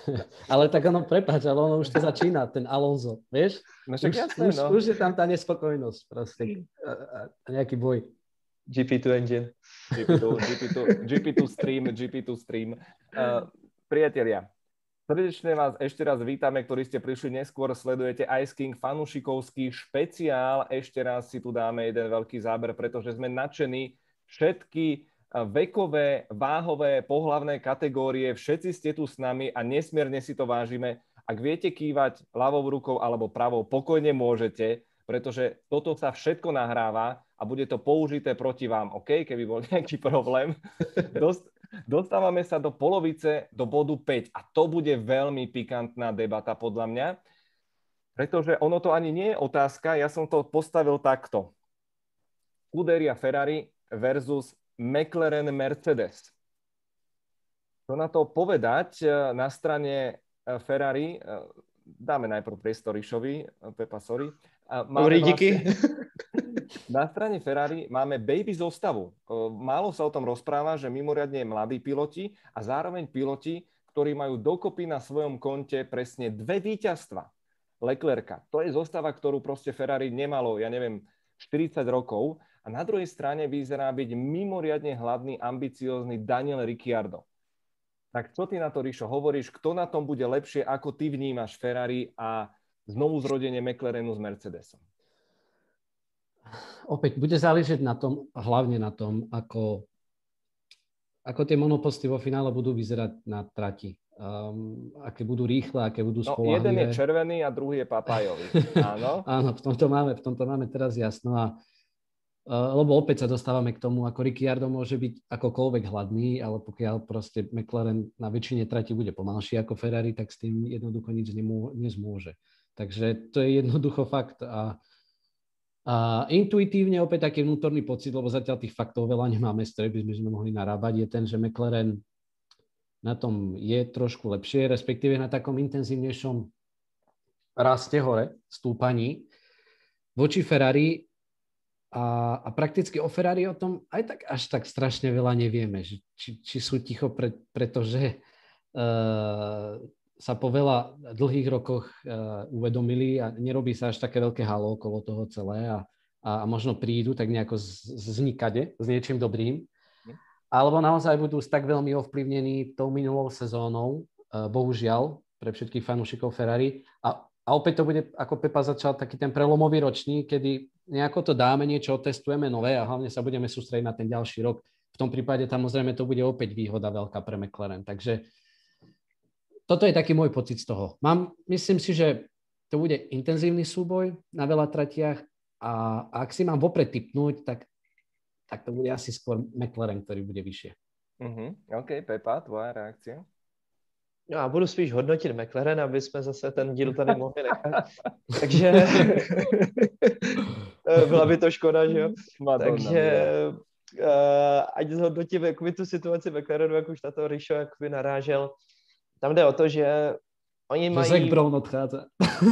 Ale tak ono, prepáč, ale ono už to začína, ten Alonso, vieš? No však už, jasné, už, no. už je tam tá nespokojnosť proste. A, a nejaký boj. G P two engine. G P two, G P two, G P two stream, G P two stream. Uh, priatelia, srdečne vás ešte raz vítame, ktorí ste prišli neskôr, sledujete Ice King fanúšikovský špeciál. Ešte raz si tu dáme jeden veľký záber, pretože sme nadšení. Všetky vekové, váhové, pohlavné kategórie, všetci ste tu s nami a nesmierne si to vážime. Ak viete kývať ľavou rukou alebo pravou, pokojne môžete, pretože toto sa všetko nahráva a bude to použité proti vám, OK? Keby bol nejaký problém. Dost, dostávame sa do polovice, do bodu päť a to bude veľmi pikantná debata podľa mňa, pretože ono to ani nie je otázka, ja som to postavil takto. Scuderia Ferrari versus McLaren Mercedes. Čo na to povedať na strane Ferrari? Dáme najprv priestor Ríšovi, Pepa, sorry. Dobrý, díky. Vlastne, na strane Ferrari máme baby zostavu. Málo sa o tom rozpráva, že mimoriadne mladí piloti a zároveň piloti, ktorí majú dokopy na svojom konte presne dve víťazstva. Leclerca. To je zostava, ktorú proste Ferrari nemalo, ja neviem, štyridsať rokov. A na druhej strane vyzerá byť mimoriadne hladný, ambiciózny Daniel Ricciardo. Tak čo ty na to, Ríšo, hovoríš? Kto na tom bude lepšie, ako ty vnímaš Ferrari a znovu zrodenie McLarenu s Mercedesom? Opäť bude záležieť na tom, hlavne na tom, ako, ako tie monoposty vo finále budú vyzerať na trati. Um, aké budú rýchle, aké budú no, spoľahlivé. Jeden je červený a druhý je papajový. Áno? Áno, v tomto máme, v tomto máme teraz jasno. A, uh, lebo opäť sa dostávame k tomu, ako Ricciardo môže byť akokoľvek hladný, ale pokiaľ proste McLaren na väčšine trati bude pomalší ako Ferrari, tak s tým jednoducho nič nemô, nezmôže. Takže to je jednoducho fakt. A, a intuitívne opäť taký vnútorný pocit, lebo zatiaľ tých faktov veľa nemáme, z ktorých by sme mohli narábať, je ten, že McLaren na tom je trošku lepšie, respektíve na takom intenzívnejšom raste hore, stúpaní voči Ferrari a, a prakticky o Ferrari o tom aj tak až tak strašne veľa nevieme, že či, či sú ticho, pre, pretože uh, sa po veľa dlhých rokoch uh, uvedomili a nerobí sa až také veľké halo okolo toho celé a, a možno prídu tak nejako z, z nikade, s niečím dobrým. Alebo naozaj budú tak veľmi ovplyvnení tou minulou sezónou, uh, bohužiaľ, pre všetkých fanúšikov Ferrari. A, a opäť to bude, ako Pepa začal, taký ten prelomový ročník, kedy nejako to dáme, niečo otestujeme nové a hlavne sa budeme sústrediť na ten ďalší rok. V tom prípade tam zrejme to bude opäť výhoda veľká pre McLaren. Takže toto je taký môj pocit z toho. Mám, myslím si, že to bude intenzívny súboj na veľa tratiach a ak si mám vopred tipnúť, tak, tak to bude asi skôr McLaren, ktorý bude vyššie. Uh-huh. OK, Pepa, tvoja reakcia? No, já budu spíš hodnotit McLaren, aby jsme zase ten díl tady mohli nechat. Takže byla by to škoda, že jo? Madonna, takže uh, ať zhodnotím jakoby tu situaci McLarenu, jak už na to Rišo jakoby narážel. Tam jde o to, že oni mají... Zac Brown odchádza.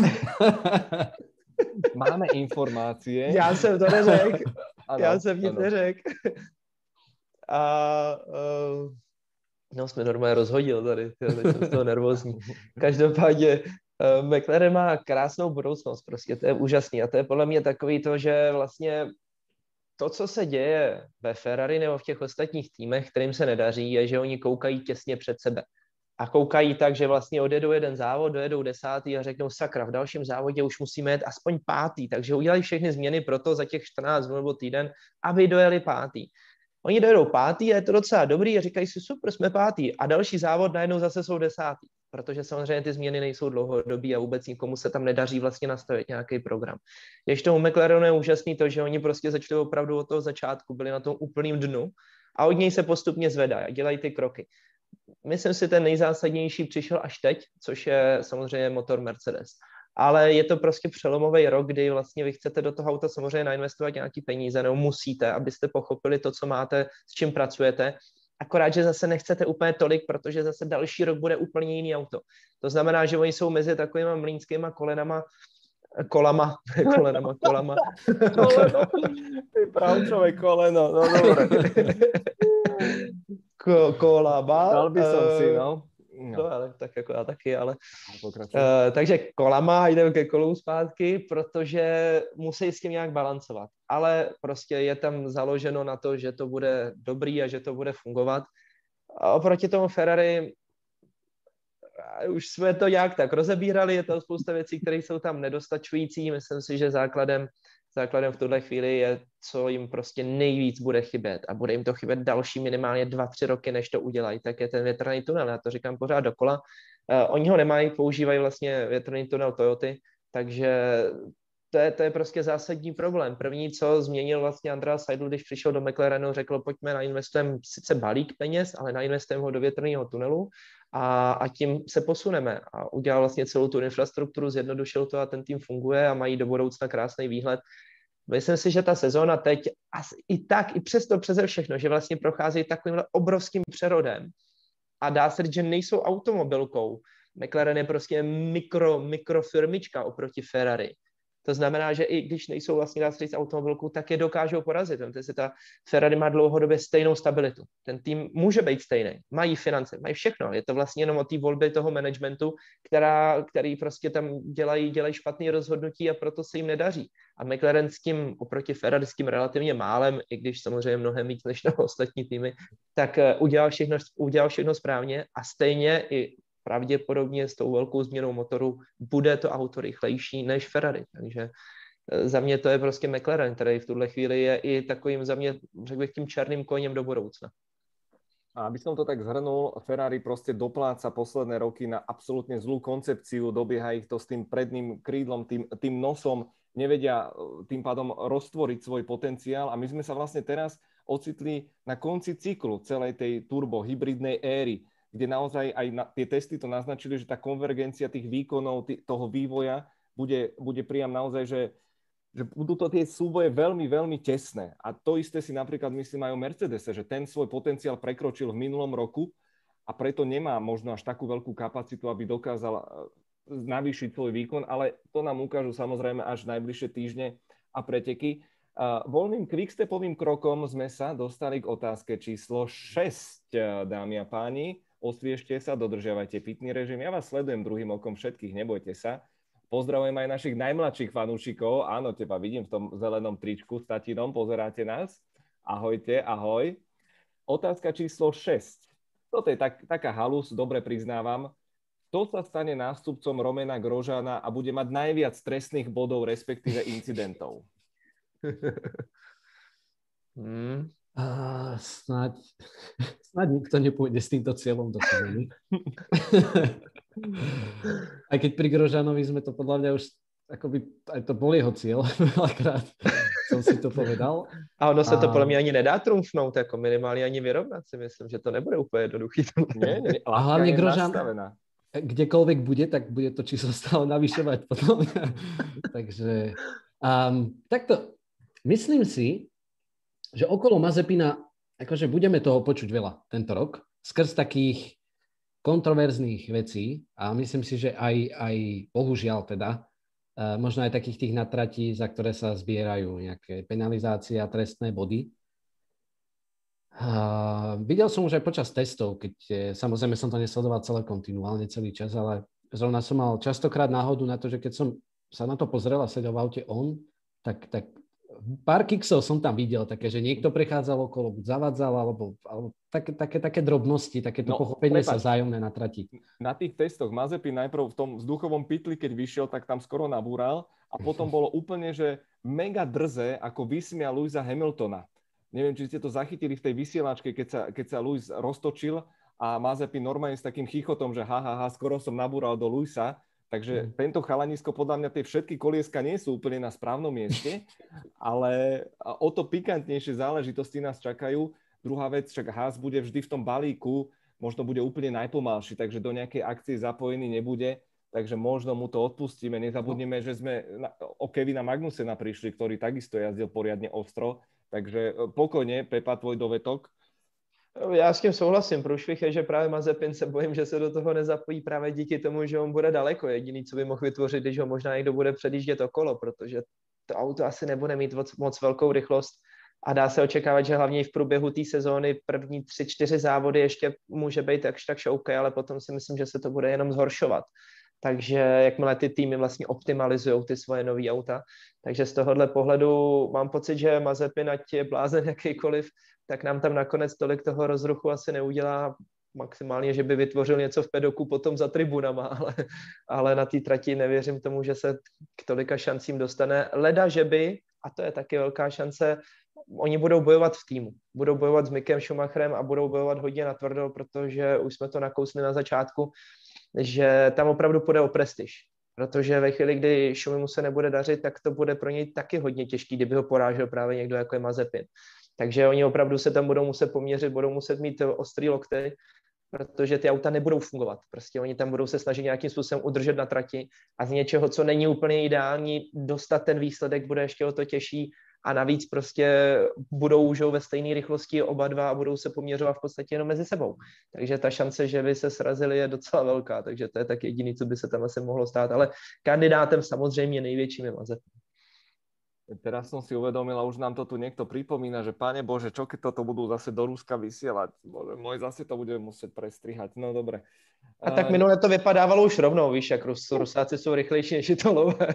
Máme informácie. Já jsem to neřekl. Já jsem nic neřekl. A... Uh, No, jsme normálně rozhodil tady, teď jsem z toho nervózní. Každopádně uh, McLaren má krásnou budoucnost, prostě to je úžasný a to je podle mě takový to, že vlastně to, co se děje ve Ferrari nebo v těch ostatních týmech, kterým se nedaří, je, že oni koukají těsně před sebe. A koukají tak, že vlastně odjedou jeden závod, dojedou desátý a řeknou sakra, v dalším závodě už musíme jet aspoň pátý, takže udělají všechny změny pro to za těch čtrnáct dnů nebo týden, aby dojeli pátý. Oni dojedou pátý a je to docela dobrý a říkají si super, jsme pátý a další závod najednou zase jsou desátý, protože samozřejmě ty změny nejsou dlouhodobý a vůbec nikomu se tam nedaří vlastně nastavit nějaký program. Když tomu McLarenu je úžasný to, že oni prostě začali opravdu od toho začátku, byli na tom úplným dnu a od něj se postupně zvedají a dělají ty kroky. Myslím si, ten nejzásadnější přišel až teď, což je samozřejmě motor Mercedes. Ale je to prostě přelomový rok, kdy vlastně vy chcete do toho auta samozřejmě nainvestovat nějaký peníze, nebo musíte, abyste pochopili to, co máte, s čím pracujete. Akorát, že zase nechcete úplně tolik, protože zase další rok bude úplně jiný auto. To znamená, že oni jsou mezi takovýma mlýnskýma kolenama, kolama, kolenama, kolama. Koleno, ty pravčové koleno, no dobré. Ko, kolama. Dal by som si, no. No. no, ale tak jako já taky, ale... Uh, takže kolama, jdeme ke kolům zpátky, protože musí s tím nějak balancovat. Ale prostě je tam založeno na to, že to bude dobrý a že to bude fungovat. A oproti tomu Ferrari, už jsme to nějak tak rozebírali, je to spousta věcí, které jsou tam nedostačující. Myslím si, že základem Základem v tuhle chvíli je, co jim prostě nejvíc bude chybět a bude jim to chybět další minimálně dva, tři roky, než to udělají, tak je ten větrný tunel. Já to říkám pořád dokola. Uh, oni ho nemají, používají vlastně větrný tunel Toyoty, takže to je, to je prostě zásadní problém. První, co změnil vlastně Andrea Seidl, když přišel do McLarenu, řekl, pojďme nainvestujeme sice balík peněz, ale nainvestujeme ho do větrného tunelu a, a tím se posuneme. A udělal vlastně celou tu infrastrukturu, zjednodušil to a ten tým funguje a mají do budoucna krásný výhled. Myslím si, že ta sezóna teď i tak, i přesto přeze všechno, že vlastně procházejí takovýmhle obrovským přerodem a dá se říct, že nejsou automobilkou. McLaren je prostě mikro, mikrofirmička oproti Ferrari. To znamená, že i když nejsou vlastně dá se říct automobilkou, tak je dokážou porazit. Protože ta Ferrari má dlouhodobě stejnou stabilitu. Ten tým může být stejný. Mají finance, mají všechno. Je to vlastně jenom o té volbě toho managementu, která, který prostě tam dělají, dělají špatné rozhodnutí a proto se jim nedaří. A McLaren s tím oproti Ferrari s tím relativně málem, i když samozřejmě mnohem víc než na ostatní týmy, tak udělal všechno, udělal všechno správně a stejně i pravděpodobně s tou velkou změnou motoru bude to auto rychlejší než Ferrari. Takže za mě to je prostě McLaren, který v tuhle chvíli je i takovým za mě, řekl bych, tím černým koněm do budoucna. A aby som to tak zhrnul, Ferrari proste dopláca posledné roky na absolútne zlú koncepciu, dobieha ich to s tým predným krídlom, tým, tým nosom, nevedia tým pádom roztvoriť svoj potenciál a my sme sa vlastne teraz ocitli na konci cyklu celej tej turbo hybridnej éry, kde naozaj aj na, tie testy to naznačili, že tá konvergencia tých výkonov, tý, toho vývoja bude, bude priam naozaj, že, že budú to tie súboje veľmi, veľmi tesné. A to isté si napríklad myslím aj o Mercedese, že ten svoj potenciál prekročil v minulom roku a preto nemá možno až takú veľkú kapacitu, aby dokázal navýšiť svoj výkon, ale to nám ukážu samozrejme až najbližšie týždne a preteky. Uh, voľným quickstepovým krokom sme sa dostali k otázke číslo šesť, dámy a páni. Osviežte sa, dodržiavajte pitný režim. Ja vás sledujem druhým okom všetkých, nebojte sa. Pozdravujem aj našich najmladších fanúšikov. Áno, teba vidím v tom zelenom tričku s tatinom, pozeráte nás. Ahojte, ahoj. Otázka číslo šesť. Toto je tak, taká halus, dobre priznávam. Kto sa stane nástupcom Romana Grosjeana a bude mať najviac trestných bodov, respektíve incidentov? Hmm. Uh, snáď, snáď nikto nepôjde s týmto cieľom do sezóny. Aj keď pri Grožanovi sme to podľa mňa už, akoby, aj to bol jeho cieľ, veľakrát som si to povedal. A ono se a... to podle mě ani nedá trumfnout, jako minimálně ani vyrovnat si myslím, že to nebude úplně jednoduchý. Nie, nie, a hlavne Grožan, nastavená. Kdekoľvek bude, tak bude to číslo stále navyšovať potom. Takže um, takto, myslím si, že okolo Mazepina akože budeme toho počuť veľa tento rok, skrz takých kontroverzných vecí a myslím si, že aj, aj bohužiaľ teda, uh, možno aj takých tých natratí, za ktoré sa zbierajú nejaké penalizácie a trestné body. Uh, videl som už aj počas testov, keď eh, samozrejme som to nesledoval celé kontinuálne, celý čas, ale zrovna som mal častokrát náhodu na to, že keď som sa na to pozrel a sedel v aute on, tak, tak pár kiksov som tam videl, také, že niekto prechádzal okolo, buď zavadzal, alebo, alebo také, také, také drobnosti, takéto no, pochopenie prepáč, sa vzájomné na trati. Na tých testoch Mazepin najprv v tom vzduchovom pytli, keď vyšiel, tak tam skoro nabúral a potom bolo úplne, že mega drze, ako vysmial Lewisa Hamiltona. Neviem, či ste to zachytili v tej vysielačke, keď sa, keď sa Lewis roztočil a Mazepin normálne s takým chichotom, že ha, ha, ha, skoro som nabúral do Lewisa. Takže mm. tento chalanisko, podľa mňa tie všetky kolieska nie sú úplne na správnom mieste, ale o to pikantnejšie záležitosti nás čakajú. Druhá vec, však Haas bude vždy v tom balíku, možno bude úplne najpomalší, takže do nejakej akcie zapojený nebude, takže možno mu to odpustíme. Nezabudneme, že sme o Kevina Magnusena prišli, ktorý takisto jazdil poriadne ostro. Takže pokojně, Pepa, tvoj dovetok. Já s tím souhlasím. Průšvih je, že právě Mazepin se bojím, že se do toho nezapojí právě díky tomu, že on bude daleko. Jediný, co by mohl vytvořit, když ho možná někdo bude předjíždět okolo, protože to auto asi nebude mít moc, moc velkou rychlost a dá se očekávat, že hlavně v průběhu té sezóny první tři, čtyři závody ještě může být takž tak šoukej, ale potom si myslím, že se to bude jenom zhoršovat. Takže jakmile ty týmy vlastně optimalizují ty svoje nový auta. Takže z tohohle pohledu mám pocit, že Mazepin, ať je blázen jakýkoliv, tak nám tam nakonec tolik toho rozruchu asi neudělá, maximálně, že by vytvořil něco v pedoku potom za tribunama, ale, ale na té trati nevěřím tomu, že se k tolika šancím dostane. Leda, že by, a to je taky velká šance, oni budou bojovat v týmu. Budou bojovat s Mickem Schumacherem a budou bojovat hodně natvrdo, protože už jsme to nakousli na začátku, že tam opravdu půjde o prestiž. Protože ve chvíli, kdy Schumimu se nebude dařit, tak to bude pro něj taky hodně těžký, kdyby ho porážel právě někdo jako je Mazepin. Takže oni opravdu se tam budou muset poměřit, budou muset mít ostrý lokty, protože ty auta nebudou fungovat. Prostě oni tam budou se snažit nějakým způsobem udržet na trati a z něčeho, co není úplně ideální, dostat ten výsledek bude ještě o to těžší a navíc prostě budou už ve stejné rychlosti oba dva a budou se poměřovat v podstatě jenom mezi sebou. Takže ta šance, že by se srazili, je docela velká, takže to je tak jediný, co by se tam asi mohlo stát, ale kandidátem samozřejmě největším je Mazepin. Teraz som si uvedomil a už nám to tu niekto pripomína, že Pane Bože, čo keď toto budú zase do Ruska vysielať? Bože môj, zase to budeme musieť prestrihať. No dobre. A tak minule to vypadávalo už rovnou, víš, jak Rus, Rusáci sú rýchlejší než Italové.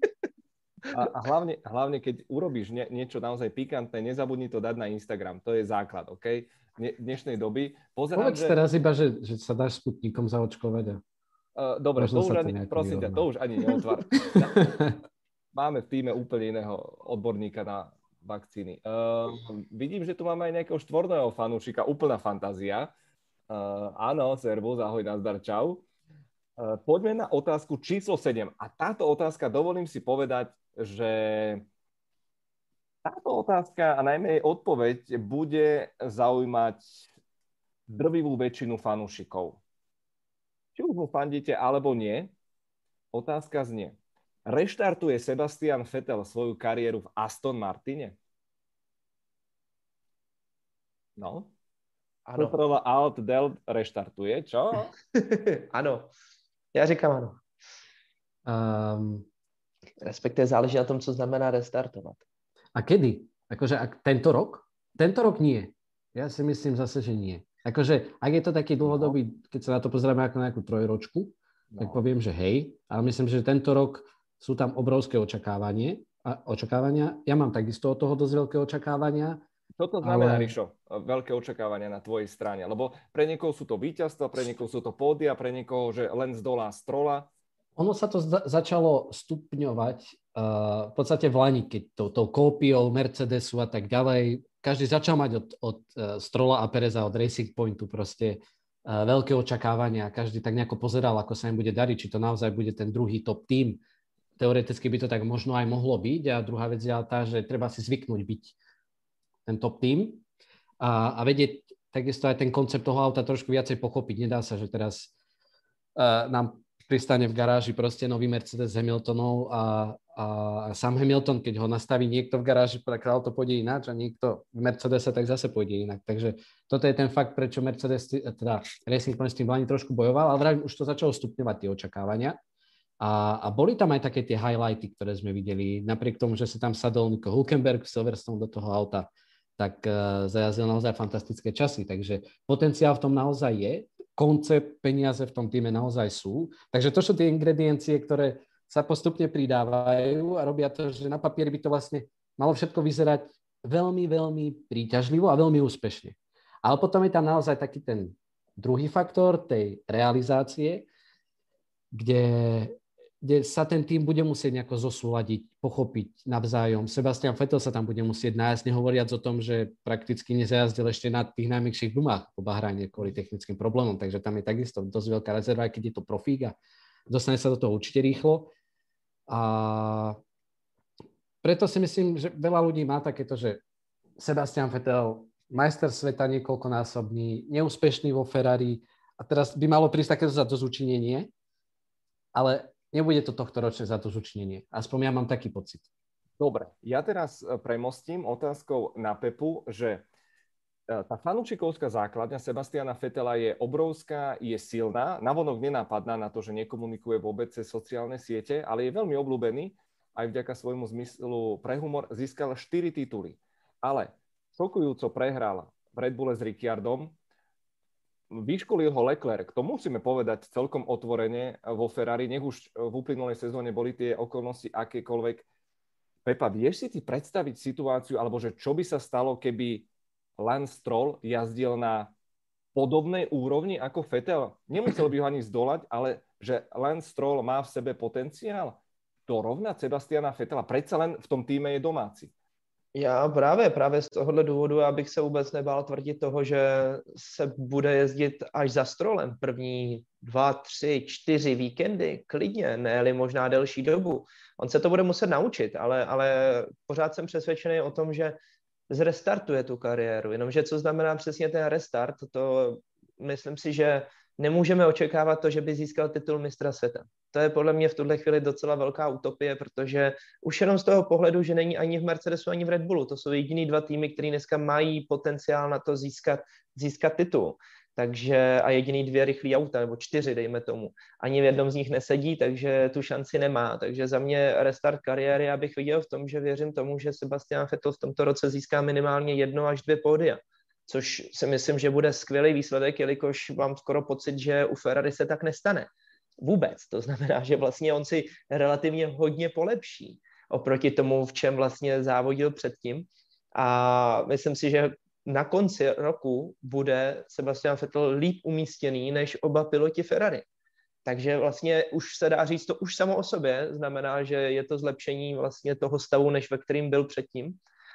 A, a hlavne, hlavne, keď urobíš nie, niečo naozaj pikantné, nezabudni to dať na Instagram. To je základ, OK? Dne, dnešnej doby. Pozerám, Povedz že... teraz iba, že, že sa dáš Sputnikom zaočkovať. A... Uh, dobre, to už, ani, prosím ťa, to už ani neotvár. Máme v týme úplne iného odborníka na vakcíny. Uh, vidím, že tu máme aj nejakého štvorného fanúšika, úplná fantázia. Uh, áno, servus, ahoj, nazdar, čau. Uh, poďme na otázku číslo sedem. A táto otázka, dovolím si povedať, že táto otázka a najmä jej odpoveď bude zaujímať drvivú väčšinu fanúšikov. Či už mu fandíte, alebo nie, otázka znie. Reštartuje Sebastian Vettel svoju kariéru v Aston Martine? No. Ano. Petrova Alt Del reštartuje, čo? Ano. Já říkám ano. Um, Respektive záleží na tom, co znamená restartovat. A kedy? Akože ak tento rok? Tento rok nie. Ja si myslím zase, že nie. Akože, ak je to taký dlhodobý, no. Keď sa na to pozrieme ako na nejakú trojročku, no. Tak poviem, že hej, ale myslím, že tento rok sú tam obrovské očakávanie, a očakávania. Ja mám takisto od toho dosť veľké očakávania. Čo to znamená, ale... Rišo, veľké očakávania na tvojej strane? Lebo pre niekoho sú to víťazstva, pre niekoho sú to pódia, pre niekoho, že len zdolá Strolla. Ono sa to za- začalo stupňovať uh, v podstate v lani, keď to, to kópiou Mercedesu a tak ďalej. Každý začal mať od, od uh, Strolla a Pereza, od Racing Pointu proste veľké očakávania. Každý tak nejako pozeral, ako sa im bude dariť, či to naozaj bude ten druhý top tým. Teoreticky by to tak možno aj mohlo byť. A druhá vec je tá, že treba si zvyknúť byť ten top tým a, a vedieť takisto aj ten koncept toho auta trošku viacej pochopiť. Nedá sa, že teraz uh, nám pristane v garáži proste nový Mercedes Hamiltonov a, a sám Hamilton, keď ho nastaví niekto v garáži, tak auto pôjde ináč a niekto v Mercedese, tak zase pôjde inak. Takže toto je ten fakt, prečo Mercedes, teda Racing Point s tým Lani trošku bojoval, ale vravím, už to začalo stupňovať tie očakávania. A, a boli tam aj také tie highlighty, ktoré sme videli. Napriek tomu, že sa tam sadol Nico Hülkenberg v Silverstone do toho auta, tak uh, zajazdil naozaj fantastické časy. Takže potenciál v tom naozaj je. Koncept, peniaze v tom týme naozaj sú. Takže to sú tie ingrediencie, ktoré sa postupne pridávajú a robia to, že na papieri by to vlastne malo všetko vyzerať veľmi, veľmi príťažlivo a veľmi úspešne. Ale potom je tam naozaj taký ten druhý faktor tej realizácie, kde, kde sa ten tým bude musieť nejako zosúladiť, pochopiť navzájom. Sebastian Vettel sa tam bude musieť nájsť, nehovoriac o tom, že prakticky nezajazdil ešte na tých najmäkších gumách po Bahrajne kvôli technickým problémom, takže tam je takisto dosť veľká rezerva, aj keď je to profík a dostane sa do toho určite rýchlo. A preto si myslím, že veľa ľudí má takéto, že Sebastian Vettel, majster sveta niekoľkonásobný, neúspešný vo Ferrari a teraz by malo prísť takéto zadozučinenie, ale nebude to tohto ročné zadozučinenie. Aspoň ja mám taký pocit. Dobre, ja teraz premostím otázkou na Pepu, že tá fanúšikovská základňa Sebastiana Vettela je obrovská, je silná, navonok nenápadná na to, že nekomunikuje vôbec cez sociálne siete, ale je veľmi obľúbený, aj vďaka svojmu zmyslu pre humor získal štyri tituly. Ale šokujúco prehral v Red Bulle s Ricciardom, vyškolil ho Leclerc, to musíme povedať celkom otvorene vo Ferrari, nech už v uplynulej sezóne boli tie okolnosti akékoľvek. Pepa, vieš si ty predstaviť situáciu, alebo že čo by sa stalo, keby Lance Stroll jazdil na podobnej úrovni ako Vettel? Nemusel by ho ani zdolať, ale že Lance Stroll má v sebe potenciál dorovnať Sebastiana Vettela. Predsa len v tom týme je domáci. Já právě, právě z tohohle důvodu, abych se vůbec nebál tvrdit toho, že se bude jezdit až za Strollem první dva, tři, čtyři víkendy, klidně, ne-li možná delší dobu. On se to bude muset naučit, ale, ale pořád jsem přesvědčený o tom, že zrestartuje tu kariéru. Jenomže co znamená přesně ten restart, to myslím si, že nemůžeme očekávat to, že by získal titul mistra světa. To je podle mě v tuhle chvíli docela velká utopie, protože už jenom z toho pohledu, že není ani v Mercedesu, ani v Red Bullu. To jsou jediný dva týmy, které dneska mají potenciál na to získat, získat titul. Takže a jediný dvě rychlý auta, nebo čtyři, dejme tomu. Ani v jednom z nich nesedí, takže tu šanci nemá. Takže za mě restart kariéry, abych viděl v tom, že věřím tomu, že Sebastian Vettel v tomto roce získá minimálně jedno až dvě pódia. Což si myslím, že bude skvělý výsledek, jelikož mám skoro pocit, že u Ferrari se tak nestane. Vůbec. To znamená, že vlastně on si relativně hodně polepší oproti tomu, v čem vlastně závodil předtím. A myslím si, že na konci roku bude Sebastian Vettel líp umístěný než oba piloti Ferrari. Takže vlastně už se dá říct, to už samo o sobě znamená, že je to zlepšení vlastně toho stavu, než ve kterým byl předtím.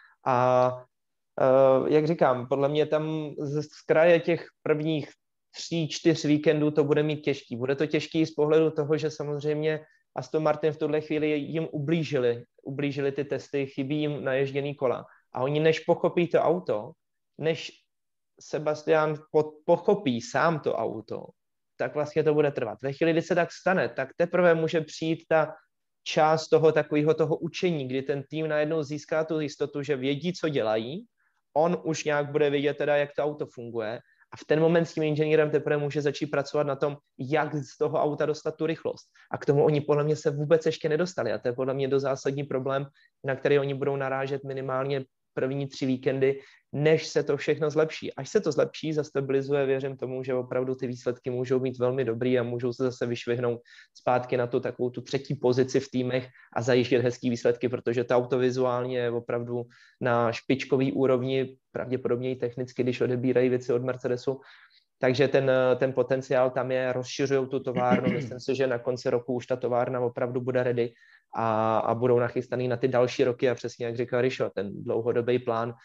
A Uh, jak říkám, podle mě tam z, z kraje těch prvních tří, čtyř víkendů to bude mít těžký. Bude to těžký z pohledu toho, že samozřejmě Aston Martin v tuhle chvíli jim ublížili, ublížili ty testy, chybí jim naježděný kola. A oni než pochopí to auto, než Sebastian po, pochopí sám to auto, tak vlastně to bude trvat. Ve chvíli, kdy se tak stane, tak teprve může přijít ta část toho takového toho učení, kdy ten tým najednou získá tu jistotu, že vědí, co dělají, on už nějak bude vědět teda, jak to auto funguje a v ten moment s tím inženýrem teprve může začít pracovat na tom, jak z toho auta dostat tu rychlost. A k tomu oni podle mě se vůbec ještě nedostali a to je podle mě do zásadní problém, na který oni budou narážet minimálně první tři víkendy, než se to všechno zlepší. Až se to zlepší, zastabilizuje, věřím tomu, že opravdu ty výsledky můžou být velmi dobrý a můžou se zase vyšvihnout zpátky na tu takovou tu třetí pozici v týmech a zajištět hezký výsledky, protože to auto vizuálně je opravdu na špičkový úrovni, pravděpodobně i technicky, když odebírají věci od Mercedesu. Takže ten, ten potenciál tam je, rozšiřují tu továrnu, myslím si, že na konci roku už ta továrna opravdu bude ready a, a budou nachystaný na ty další roky a přesně jak říkal Rišo, ten dlouhodobý plán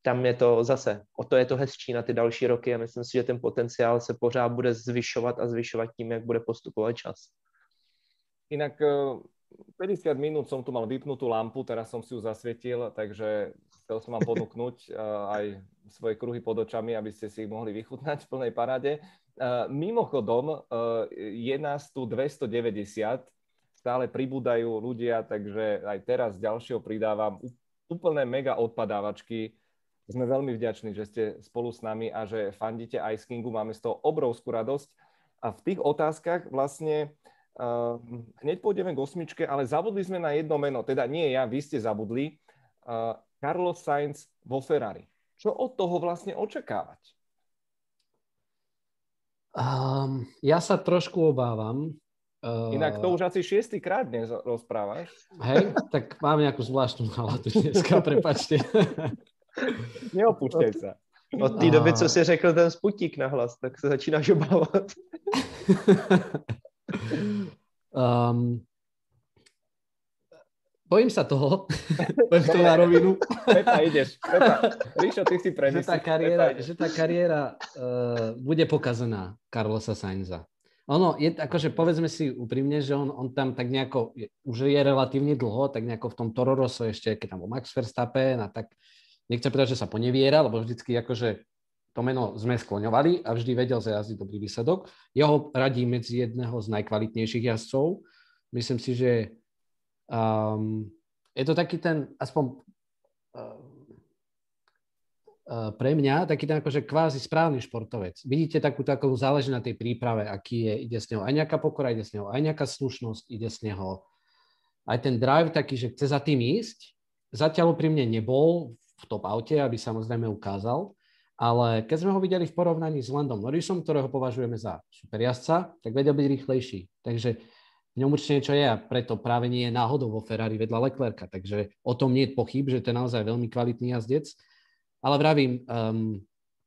tam je to zase, o to je to hezčí na ty další roky a myslím si, že ten potenciál se pořád bude zvyšovat a zvyšovat tím, jak bude postupovat čas. Inak päťdesiat minút som tu mal vypnutú lampu, teraz som si ju zasvietil, takže chcel som vám ponúknuť aj svoje kruhy pod očami, aby ste si ich mohli vychutnať v plnej paráde. Mimochodom, je nás tu dvestodeväťdesiat, stále pribúdajú ľudia, takže aj teraz ďalšieho pridávam úplné mega odpadávačky. Sme veľmi vďační, že ste spolu s nami a že fandíte Ice Kingu, máme z toho obrovskú radosť. A v tých otázkach vlastne Uh, hneď pôjdeme k osmičke, ale zabudli sme na jedno meno, teda nie ja, vy ste zabudli. Uh, Carlos Sainz vo Ferrari. Čo od toho vlastne očakávať? Um, ja sa trošku obávam. Uh, Inak to už asi šiestýkrát dnes rozprávaš. Hej, tak mám nejakú zvláštnu náladu dneska, prepáčte. Neopúšťaj sa. Od té doby, co si řekl ten Sputnik nahlas, tak se začínáš obávat. Um, bojím sa toho, poviem to na rovinu. Pepa, ideš. Pepa, Ríšo, ty si premyslíš. Že tá kariéra, že tá kariéra uh, bude pokazená Carlosa Sainza. Ono, je, akože povedzme si úprimne, že on, on tam tak nejako, je, už je relatívne dlho, tak nejako v tom Toro Rosso ešte, keď tam bol Max Verstappen a tak, nechcem povedať, že sa poneviera, lebo vždycky akože to meno sme skloňovali a vždy vedel zajazdiť dobrý výsledok. Ja ho radím medzi jedného z najkvalitnejších jazdcov. Myslím si, že um, je to taký ten, aspoň uh, uh, pre mňa, taký ten akože kvázi správny športovec. Vidíte takú takú záleží na tej príprave, aký je, ide z neho aj nejaká pokora, ide z neho aj nejaká slušnosť, ide z neho aj ten drive taký, že chce za tým ísť. Zatiaľ pri mne nebol v top aute, aby samozrejme ukázal. Ale keď sme ho videli v porovnaní s Landom Norrisom, ktorého považujeme za superjazdca, tak vedel byť rýchlejší. Takže v ňom určite niečo je a preto práve nie je náhodou vo Ferrari vedľa Leclerca. Takže o tom nie je pochyb, že to je naozaj veľmi kvalitný jazdec. Ale vravím, um,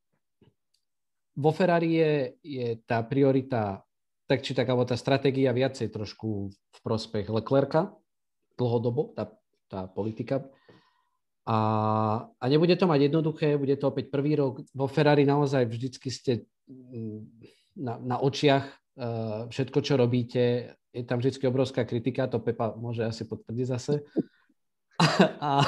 vo Ferrari je, je tá priorita, tak či tak, alebo tá stratégia viacej trošku v prospech Leclerca dlhodobo, tá, tá politika. A, a nebude to mať jednoduché, bude to opäť prvý rok. Vo Ferrari naozaj vždycky ste na, na očiach uh, všetko, čo robíte. Je tam vždycky obrovská kritika, to Pepa môže asi potvrdiť zase. A,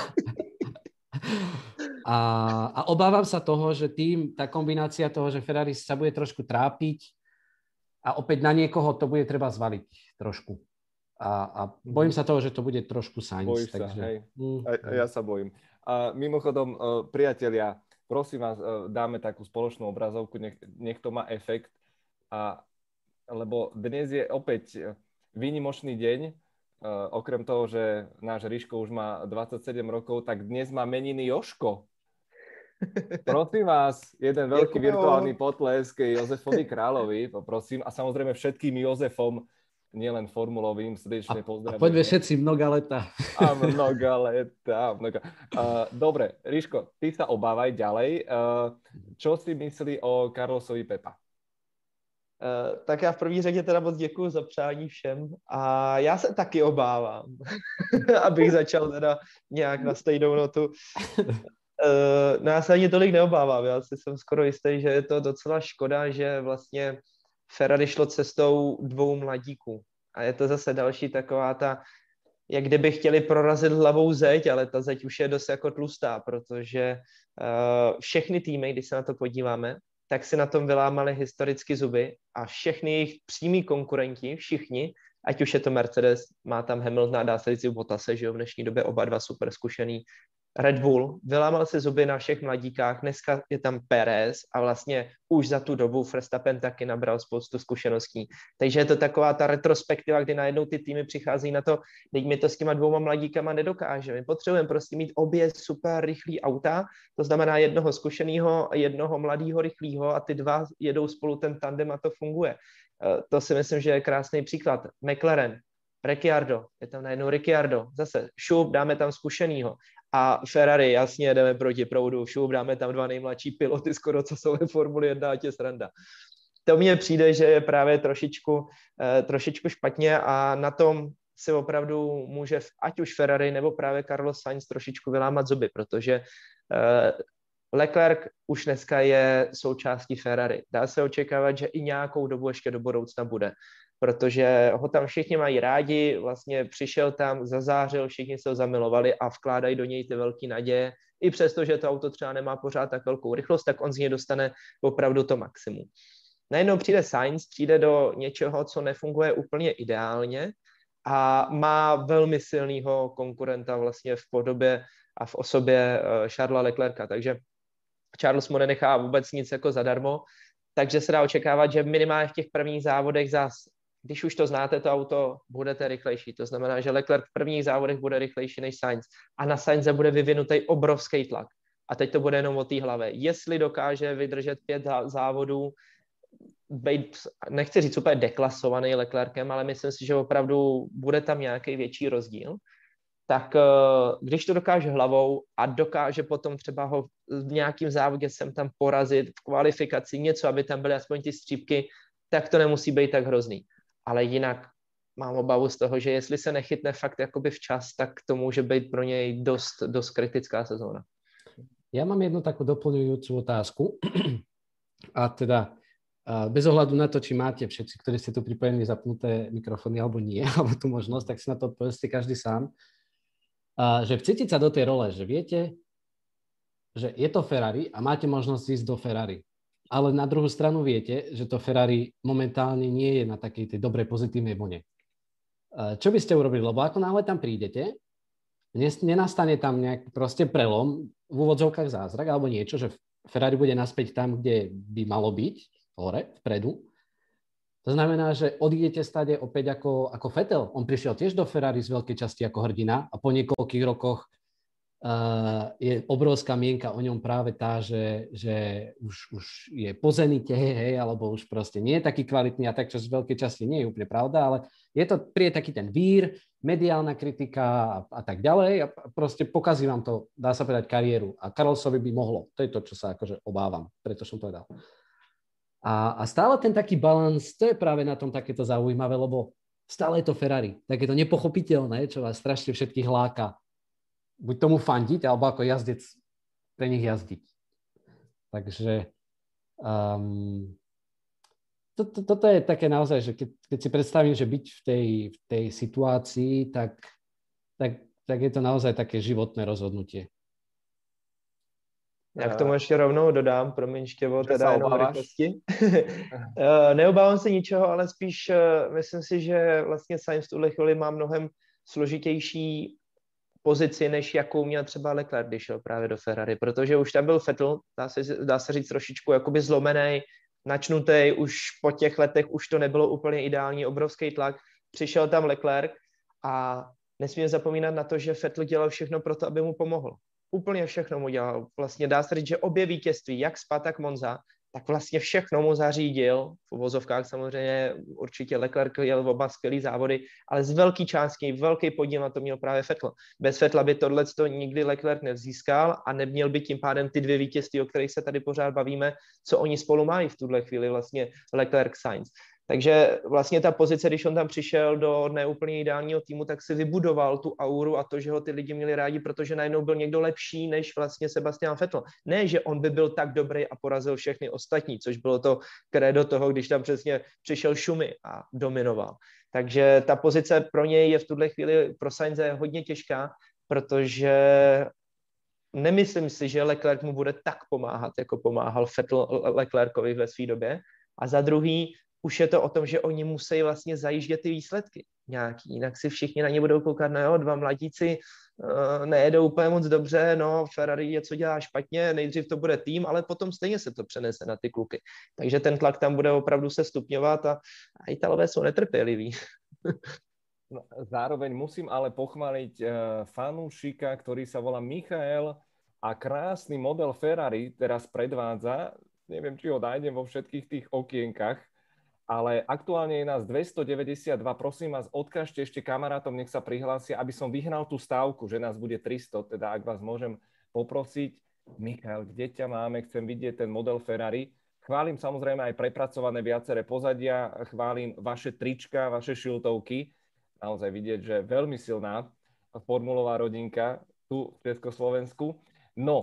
a, a obávam sa toho, že tým, tá kombinácia toho, že Ferrari sa bude trošku trápiť a opäť na niekoho to bude treba zvaliť trošku. A, a bojím sa toho, že to bude trošku Sainz. Bojíš takže... sa, hej. Mm. A, a ja sa bojím. A mimochodom, priatelia, prosím vás, dáme takú spoločnú obrazovku, nech, nech to má efekt. A, lebo dnes je opäť výnimočný deň. Okrem toho, že náš Ríško už má dvadsaťsedem rokov, tak dnes má meniny Jožko. Prosím vás, jeden veľký virtuálny potlesk Jozefovi Královi, poprosím. A samozrejme všetkým Jozefom, nielen formulovým, srdečne pozdravujeme. A poďme všetci mnoga leta. A mnoga leta. Mnoga. Uh, dobre, Ríško, ty sa obávaj ďalej. Uh, čo si myslí o Carlosovi Pepa? Uh, tak já v první řadě teda moc děkuju za přání všem a já se taky obávám, abych začal teda nějak na stejnou notu. Uh, no já se ani tolik neobávám, já si jsem skoro jistý, že je to docela škoda, že vlastně Ferrari šlo cestou dvou mladíků. A je to zase další taková ta, jak kdyby chtěli prorazit hlavou zeď, ale ta zeď už je dost jako tlustá, protože uh, všechny týmy, když se na to podíváme, tak si na tom vylámali historicky zuby a všechny jejich přímí konkurenti, všichni, ať už je to Mercedes, má tam Hamilton a dá se říct i Bottase, že jo, v dnešní době oba dva super zkušený, Red Bull, vylámal si zuby na všech mladíkách, dneska je tam Perez a vlastně už za tu dobu Verstappen taky nabral spoustu zkušeností. Takže je to taková ta retrospektiva, kdy najednou ty týmy přichází na to, teď my to s těma dvouma mladíkama nedokážeme. My potřebujeme prostě mít obě super rychlý auta, to znamená jednoho zkušeného a jednoho mladého rychlého a ty dva jedou spolu ten tandem a to funguje. To si myslím, že je krásný příklad. McLaren, Ricciardo, je tam najednou Ricciardo, zase šup, dáme tam zkušenýho. A Ferrari, jasně, jdeme proti proudu, šup, dáme tam dva nejmladší piloty, skoro co jsou ve Formuli jedna, ať je sranda. To mně přijde, že je právě trošičku, eh, trošičku špatně a na tom si opravdu může ať už Ferrari nebo právě Carlos Sainz trošičku vylámat zuby, protože eh, Leclerc už dneska je součástí Ferrari. Dá se očekávat, že i nějakou dobu ještě do budoucna bude, protože ho tam všichni mají rádi, vlastně přišel tam, zazářil, všichni se ho zamilovali a vkládají do něj ty velké naděje. I přesto, že to auto třeba nemá pořád tak velkou rychlost, tak on z něj dostane opravdu to maximum. Najednou přijde Sainz, přijde do něčeho, co nefunguje úplně ideálně a má velmi silného konkurenta vlastně v podobě a v osobě Charlesa Leclerca, takže Charles mu nenechá vůbec nic jako zadarmo, takže se dá očekávat, že minimálně v těch prvních závodech zás, když už to znáte, to auto, budete rychlejší. To znamená, že Leclerc v prvních závodech bude rychlejší než Sainz a na Sainze bude vyvinutý obrovský tlak. A teď to bude jenom o té hlavě. Jestli dokáže vydržet pět závodů, být, nechci říct úplně deklasovaný Leclercem, ale myslím si, že opravdu bude tam nějaký větší rozdíl, tak když to dokáže hlavou a dokáže potom třeba ho v nějakým závodě sem tam porazit, v kvalifikaci něco, aby tam byly aspoň ty střípky, tak to nemusí být tak hrozný. Ale jinak mám obavu z toho, že jestli se nechytne fakt jakoby včas, tak to může být pro něj dost, dost kritická sezóna. Ja mám jednu takú doplňujúcu otázku. A teda bez ohľadu na to, či máte všetci, ktorí ste tu pripojení, zapnuté mikrofóny alebo nie, alebo tú možnosť, tak si na to povedzte každý sám. A že vcítiť sa do tej role, že viete, že je to Ferrari a máte možnosť ísť do Ferrari. Ale na druhú stranu viete, že to Ferrari momentálne nie je na takej tej dobrej pozitívnej vlne. Čo by ste urobili? Lebo ako náhle tam prídete, nenastane tam nejak proste prelom, v úvodzovkách zázrak alebo niečo, že Ferrari bude naspäť tam, kde by malo byť, hore, vpredu. To znamená, že odídete stade opäť ako, ako Vettel. On prišiel tiež do Ferrari z veľkej časti ako hrdina a po niekoľkých rokoch uh, je obrovská mienka o ňom práve tá, že, že už, už je po zenite, hej, alebo už proste nie je taký kvalitný a tak, čo z veľkej časti nie je úplne pravda, ale je to príde taký ten vír, mediálna kritika a, a tak ďalej a proste pokazí vám to, dá sa povedať, kariéru. A Carlosovi by mohlo. To je to, čo sa akože obávam, preto som povedal. A, a stále ten taký balans, to je práve na tom takéto zaujímavé, lebo stále je to Ferrari. Takéto nepochopiteľné, čo vás strašne všetkých láka. Buď tomu fandiť, alebo ako jazdec pre nich jazdiť. Takže um, to, to, toto je také naozaj, že keď, keď si predstavím, že byť v tej, v tej situácii, tak, tak, tak je to naozaj také životné rozhodnutie. Já k tomu ještě rovnou dodám, promiň, Štěvo, teda jenom rychlosti. Neobávám se ničeho, ale spíš myslím si, že vlastně Sainz v tuhle chvíli má mnohem složitější pozici, než jakou měl třeba Leclerc, když šel právě do Ferrari, protože už tam byl Vettel, dá se, dá se říct trošičku jakoby zlomenej, načnutej, už po těch letech už to nebylo úplně ideální, obrovský tlak, přišel tam Leclerc a nesmíme zapomínat na to, že Vettel dělal všechno pro to, aby mu pomohl. Úplně všechno mu dělal. Vlastně dá se říct, že obě vítězství, jak Spa, tak Monza, tak vlastně všechno mu zařídil. V uvozovkách samozřejmě určitě Leclerc jel oba skvělý závody, ale z velký části, velký podíl na to měl právě Vettel. Bez Vettela by tohleto nikdy Leclerc nevzískal a neměl by tím pádem ty dvě vítězství, o kterých se tady pořád bavíme, co oni spolu mají v tuhle chvíli vlastně Leclerc Sainz. Takže vlastně ta pozice, když on tam přišel do neúplně ideálního týmu, tak si vybudoval tu auru a to, že ho ty lidi měli rádi, protože najednou byl někdo lepší než vlastně Sebastian Vettel. Ne, že on by byl tak dobrý a porazil všechny ostatní, což bylo to krédo toho, když tam přesně přišel Schumi a dominoval. Takže ta pozice pro něj je v tuhle chvíli pro Sainze hodně těžká, protože nemyslím si, že Leclerc mu bude tak pomáhat, jako pomáhal Vettel Leclercovi ve své době. A za druhý, už je to o tom, že oni musí vlastně zajíždět ty výsledky nějaký, jinak si všichni na ně budou koukat, no jo, dva mladíci uh, nejedou úplně moc dobře, no Ferrari něco dělá špatně, nejdřív to bude tým, ale potom stejně se to přenese na ty kluky. Takže ten tlak tam bude opravdu se stupňovat a, a Italové jsou netrpěliví. No, zároveň musím ale pochváliť uh, fanúšika, ktorý sa volá Michael a krásny model Ferrari teraz predvádza. Neviem, či ho nájdem vo všetkých tých okienkach, ale aktuálne je nás dvestodeväťdesiatdva. Prosím vás, odkážte ešte kamarátom, nech sa prihlásia, aby som vyhnal tú stávku, že nás bude tristo. Teda ak vás môžem poprosiť, Michal, kde ťa máme? Chcem vidieť ten model Ferrari. Chválim samozrejme aj prepracované viaceré pozadia, chválim vaše trička, vaše šiltovky. Naozaj vidieť, že veľmi silná formulová rodinka tu v Československu. No,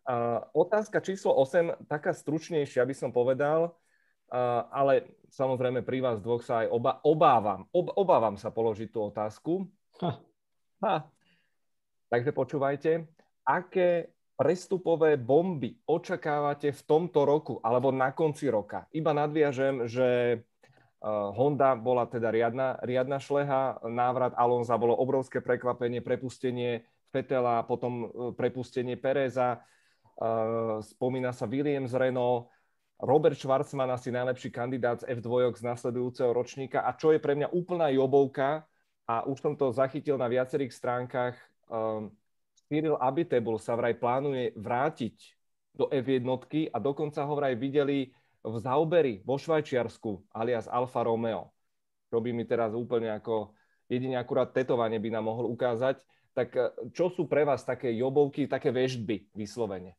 Uh, otázka číslo osem, taká stručnejšia, by som povedal, uh, ale samozrejme pri vás dvoch sa aj oba, obávam, ob, obávam sa položiť tú otázku. Ha. Ha. Takže počúvajte, aké prestupové bomby očakávate v tomto roku alebo na konci roka? Iba nadviažem, že uh, Honda bola teda riadna, riadna šleha, návrat Alonza bolo obrovské prekvapenie, prepustenie Vettela, potom prepustenie Pereza, Uh, spomína sa Williams Renault, Robert Schwarzman asi najlepší kandidát z ef dva z nasledujúceho ročníka a čo je pre mňa úplná jobovka a už som to zachytil na viacerých stránkach, um, Cyril Abiteboul sa vraj plánuje vrátiť do ef jedna a dokonca ho vraj videli v Zauberi vo Švajčiarsku alias Alfa Romeo, čo by mi teraz úplne ako jedine akurát tetovanie by nám mohol ukázať. Tak čo sú pre vás také jobovky, také veštby vyslovene?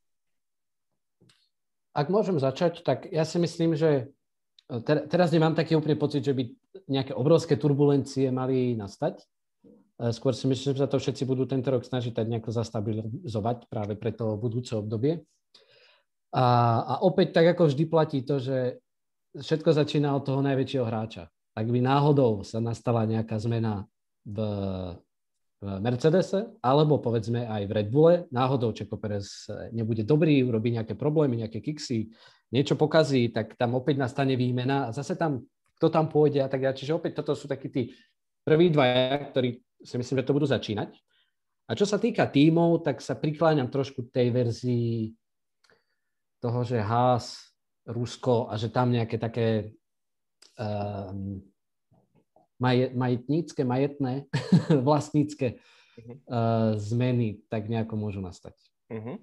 Ak môžem začať, tak ja si myslím, že ter- teraz nemám taký úplný pocit, že by nejaké obrovské turbulencie mali nastať. Skôr si myslím, že sa to všetci budú tento rok snažiť tak nejako zastabilizovať práve pre to budúce obdobie. A, a opäť tak ako vždy platí to, že všetko začína od toho najväčšieho hráča. Ak by náhodou sa nastala nejaká zmena v v Mercedese, alebo povedzme aj v Red Bulle, náhodou Checo Perez nebude dobrý, urobí nejaké problémy, nejaké kiksy, niečo pokazí, tak tam opäť nastane výmena a zase tam, kto tam pôjde a tak ďalej. Čiže opäť toto sú takí tí prví dvaja, ktorí si myslím, že to budú začínať. A čo sa týka tímov, tak sa prikláňam trošku tej verzii toho, že Haas, Rusko a že tam nejaké také um, Majet, majetnícke, majetné, vlastnícke uh-huh. uh, zmeny tak nejako môžu nastať. Uh-huh.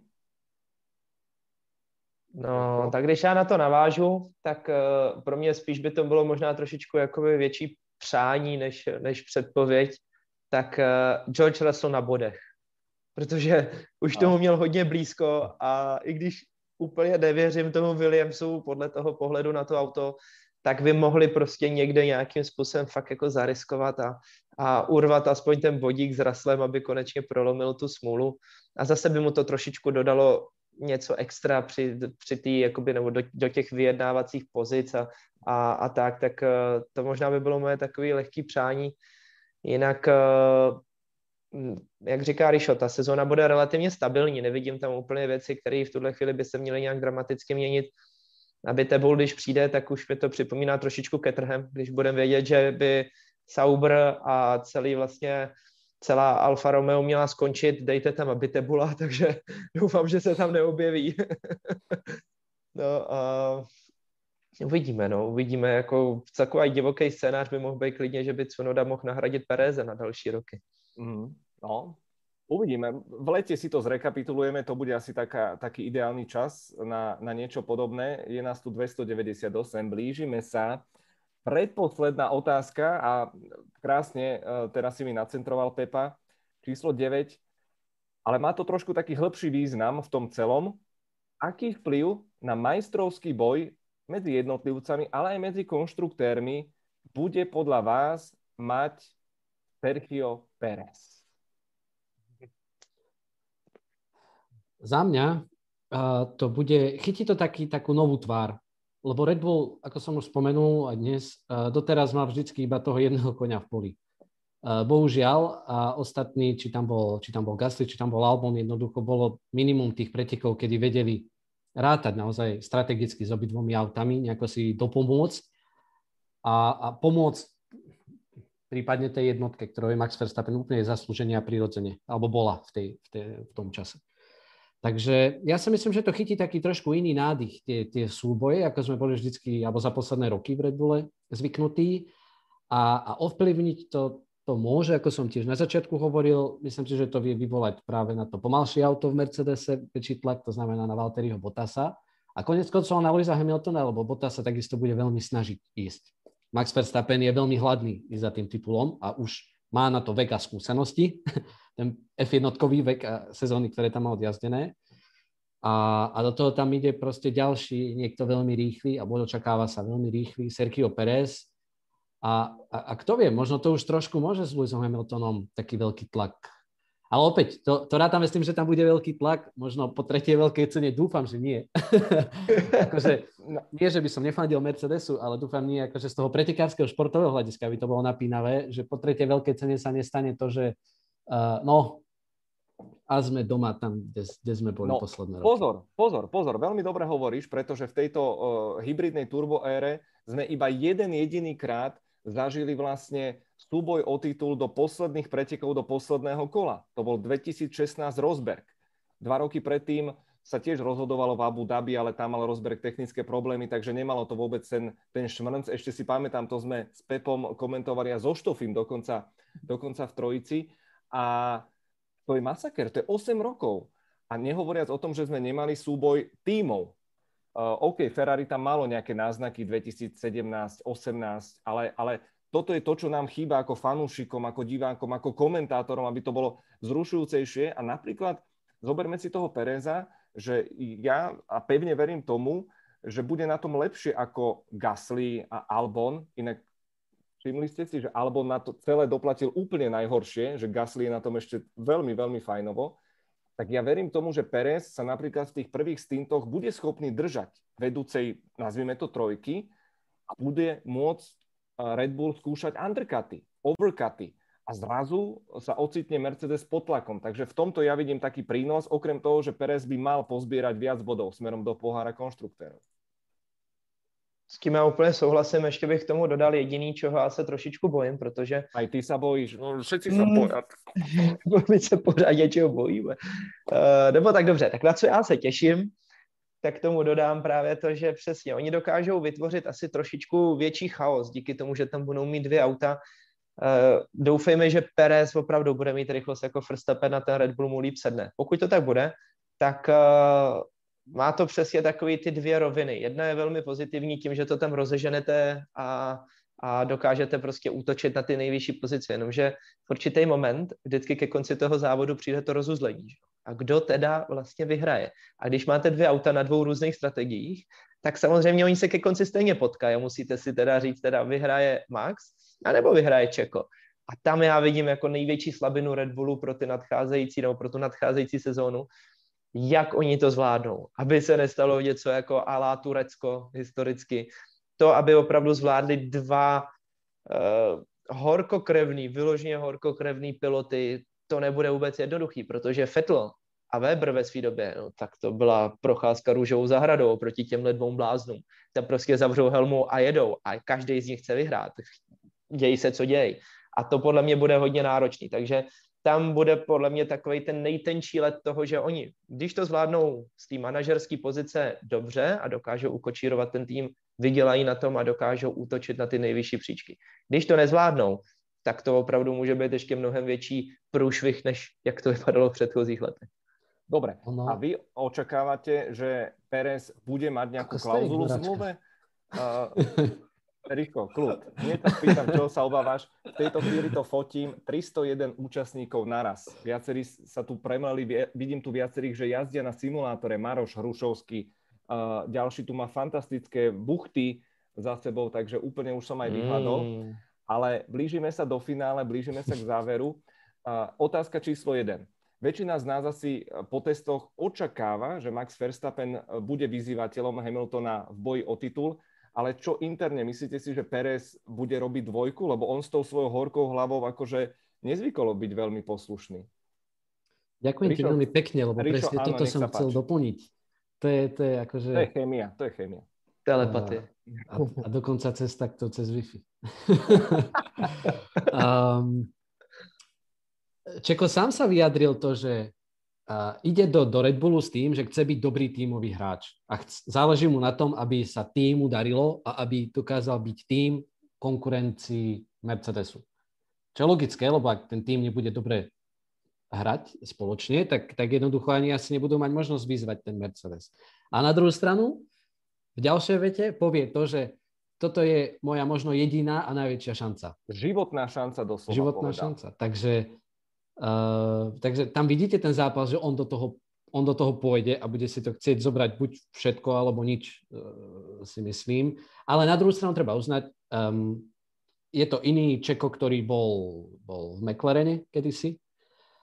No, tak když já na to navážu, tak uh, pro mě spíš by to bylo možná trošičku jakoby větší přání než, než předpověď, tak uh, George Russell na bodech. Protože už tomu měl hodně blízko a i když úplně nevěřím tomu Williamsu podle toho pohledu na to auto, tak by mohli prostě někde nějakým způsobem fakt jako zariskovat a, a urvat aspoň ten bodík s Russellem, aby konečně prolomil tu smůlu. A zase by mu to trošičku dodalo něco extra při, při tý, jakoby, nebo do, do těch vyjednávacích pozic a, a, a tak, tak to možná by bylo moje takové lehké přání. Jinak, jak říká Rišo, ta sezóna bude relativně stabilní, nevidím tam úplně věci, které v tuhle chvíli by se měly nějak dramaticky měnit. Abiteboul, když přijde, tak už mi to připomíná trošičku Caterham, když budeme vědět, že by Sauber a celý vlastně celá Alfa Romeo měla skončit, dejte tam Abiteboula, takže doufám, že se tam neobjeví. No a uvidíme, no, uvidíme, jako takový divoký scénář by mohl být klidně, že by Tsunoda mohl nahradit Pereze na další roky. Mm, no, uvidíme. V lete si to zrekapitulujeme, to bude asi taká, taký ideálny čas na, na niečo podobné. Je nás tu dvestodeväťdesiatosem, blížime sa. Predposledná otázka a krásne, teraz si mi nacentroval Pepa, číslo deväť, ale má to trošku taký hĺbší význam v tom celom. Aký vplyv na majstrovský boj medzi jednotlivcami, ale aj medzi konštruktérmi bude podľa vás mať Sergio Pérez? Za mňa uh, to bude, chytí to taký, takú novú tvár, lebo Red Bull, ako som už spomenul aj dnes, uh, doteraz mal vždycky iba toho jedného koňa v poli. Uh, bohužiaľ, a ostatní, či tam bol, či tam bol Gasly, či tam bol Albon, jednoducho bolo minimum tých pretekov, kedy vedeli rátať naozaj strategicky s obidvomi autami, nejako si dopomôcť a, a pomôcť prípadne tej jednotke, ktorou je Max Verstappen úplne zaslúžene a prirodzene, alebo bola v, tej, v, tej, v tom čase. Takže ja si myslím, že to chytí taký trošku iný nádych, tie, tie súboje, ako sme boli vždycky, alebo za posledné roky v Red Bulle zvyknutí. A, a ovplyvniť to, to môže, ako som tiež na začiatku hovoril, myslím si, že to vie vyvolať práve na to pomalšie auto v Mercedese, väčší tlak, to znamená na Valtteriho Bottasa. A konec koncov na Lewisa Hamiltona, lebo Bottas sa takisto bude veľmi snažiť ísť. Max Verstappen je veľmi hladný ísť za tým titulom a už má na to vek a skúsenosti, ten ef jednotkový vek a sezóny, ktoré tam má odjazdené. A, a do toho tam ide proste ďalší, niekto veľmi rýchly, alebo očakáva sa veľmi rýchly, Sergio Pérez. A, a, a kto vie, možno to už trošku môže s Lewisom Hamiltonom taký veľký tlak. Ale opäť, to, to rátame s tým, že tam bude veľký tlak, možno po tretej veľkej cene, dúfam, že nie. akože, nie, že by som nefandil Mercedesu, ale dúfam nie, akože z toho pretekárskeho športového hľadiska by to bolo napínavé, že po tretej veľkej cene sa nestane to, že uh, no, a sme doma tam, kde, kde sme boli no, posledné roky. Pozor, pozor, pozor, veľmi dobre hovoríš, pretože v tejto uh, hybridnej turbo ére sme iba jeden jediný krát zažili vlastne súboj o titul do posledných pretekov do posledného kola. To bol dvetisícšestnásť Rosberg. Dva roky predtým sa tiež rozhodovalo v Abu Dhabi, ale tam mal Rosberg technické problémy, takže nemalo to vôbec ten, ten šmrnc. Ešte si pamätám, to sme s Pepom komentovali a so Štofím dokonca, dokonca v trojici. A to je masaker, to je osem rokov. A nehovoriac o tom, že sme nemali súboj tímov. Uh, OK, Ferrari tam malo nejaké náznaky dvetisícsedemnásť, osemnásť, ale, ale toto je to, čo nám chýba ako fanúšikom, ako divákom, ako komentátorom, aby to bolo vzrušujúcejšie. A napríklad zoberme si toho Pereza, že ja a pevne verím tomu, že bude na tom lepšie ako Gasly a Albon. Inak všimli ste si, že Albon na to celé doplatil úplne najhoršie, že Gasly je na tom ešte veľmi, veľmi fajnovo. Tak ja verím tomu, že Perez sa napríklad v tých prvých stintoch bude schopný držať vedúcej, nazvime to trojky, a bude môcť Red Bull skúšať undercuty, overcuty a zrazu sa ocitne Mercedes pod tlakom. Takže v tomto ja vidím taký prínos, okrem toho, že Perez by mal pozbierať viac bodov smerom do pohára konštruktérov. S tím já úplně souhlasím, ještě bych k tomu dodal jediný, čeho já se trošičku bojím, protože... Aj ty sa bojíš, no všetci sa bojí. My se pořád něčeho bojíme. Uh, nebo tak dobře, tak na co já se těším, tak tomu dodám právě to, že přesně, oni dokážou vytvořit asi trošičku větší chaos, díky tomu, že tam budou mít dvě auta. Uh, doufejme, že Perez opravdu bude mít rychlost jako Verstappen na ten Red Bull mu líp sedne. Pokud to tak bude, tak... Uh, má to přesně takový ty dvě roviny. Jedna je velmi pozitivní tím, že to tam rozeženete a, a dokážete prostě útočit na ty nejvyšší pozice, jenomže v určitý moment, vždycky ke konci toho závodu přijde to rozuzlení. A kdo teda vlastně vyhraje? A když máte dvě auta na dvou různých strategiích, tak samozřejmě oni se ke konci stejně potkají. Musíte si teda říct, teda vyhraje Max, anebo vyhraje Čeko. A tam já vidím jako největší slabinu Red Bullu pro ty nadcházející, nebo pro tu nadcházející sezónu, jak oni to zvládnou, aby se nestalo něco jako à la Turecko historicky. To, aby opravdu zvládli dva uh, horkokrevný, vyloženě horkokrevný piloty, to nebude vůbec jednoduchý, protože Vettel a Weber ve své době, no, tak to byla procházka růžovou zahradou proti těmhle dvou bláznům. Tam prostě zavřou helmu a jedou a každý z nich chce vyhrát. Děj se, co děj. A to podle mě bude hodně náročný, takže tam bude podle mě takovej ten nejtenčí let toho, že oni, když to zvládnou z té manažerské pozice dobře a dokážou ukočírovat ten tým, vydělají na tom a dokážou útočit na ty nejvyšší příčky. Když to nezvládnou, tak to opravdu může být ještě mnohem větší průšvih, než jak to vypadalo v předchozích letech. Dobre, no. A vy očakávate, že Perez bude mať nejakú klauzulu v zmluve? Uh, Rýchlo, kľud. Hneď tak pýtam, čo sa obávaš. V tejto chvíli to fotím. tristojeden účastníkov naraz. Viacerí sa tu premleli, vidím tu viacerých, že jazdia na simulátore. Maroš Hrušovský, uh, ďalší tu má fantastické buchty za sebou, takže úplne už som aj vyhľadol. Mm. Ale blížime sa do finále, blížime sa k záveru. Uh, otázka číslo jeden. Väčšina z nás asi po testoch očakáva, že Max Verstappen bude vyzývateľom Hamiltona v boji o titul. Ale čo interne, myslíte si, že Perez bude robiť dvojku? Lebo on s tou svojou horkou hlavou akože nezvykolo byť veľmi poslušný. Ďakujem Ríšo, ti veľmi pekne, lebo Ríšo, presne áno, toto som chcel páči. doplniť. To je, to je akože... To je chémia, to je chémia. Telepatie. A, a dokonca cez takto, cez Wi-Fi. um, Čeko sám sa vyjadril to, že Uh, ide do, do Red Bullu s tým, že chce byť dobrý tímový hráč a chc- záleží mu na tom, aby sa tímu darilo a aby dokázal byť tím konkurencii Mercedesu. Čo je logické, lebo ak ten tím nebude dobre hrať spoločne, tak, tak jednoducho ani asi nebudú mať možnosť vyzvať ten Mercedes. A na druhú stranu, v ďalšej vete povie to, že toto je moja možno jediná a najväčšia šanca. Životná šanca doslova. Životná povedal. šanca, takže Uh, takže tam vidíte ten zápas, že on do toho, on do toho pôjde a bude si to chcieť zobrať buď všetko, alebo nič, uh, si myslím. Ale na druhú stranu treba uznať, um, je to iný Čeko, ktorý bol, bol v McLarene kedysi.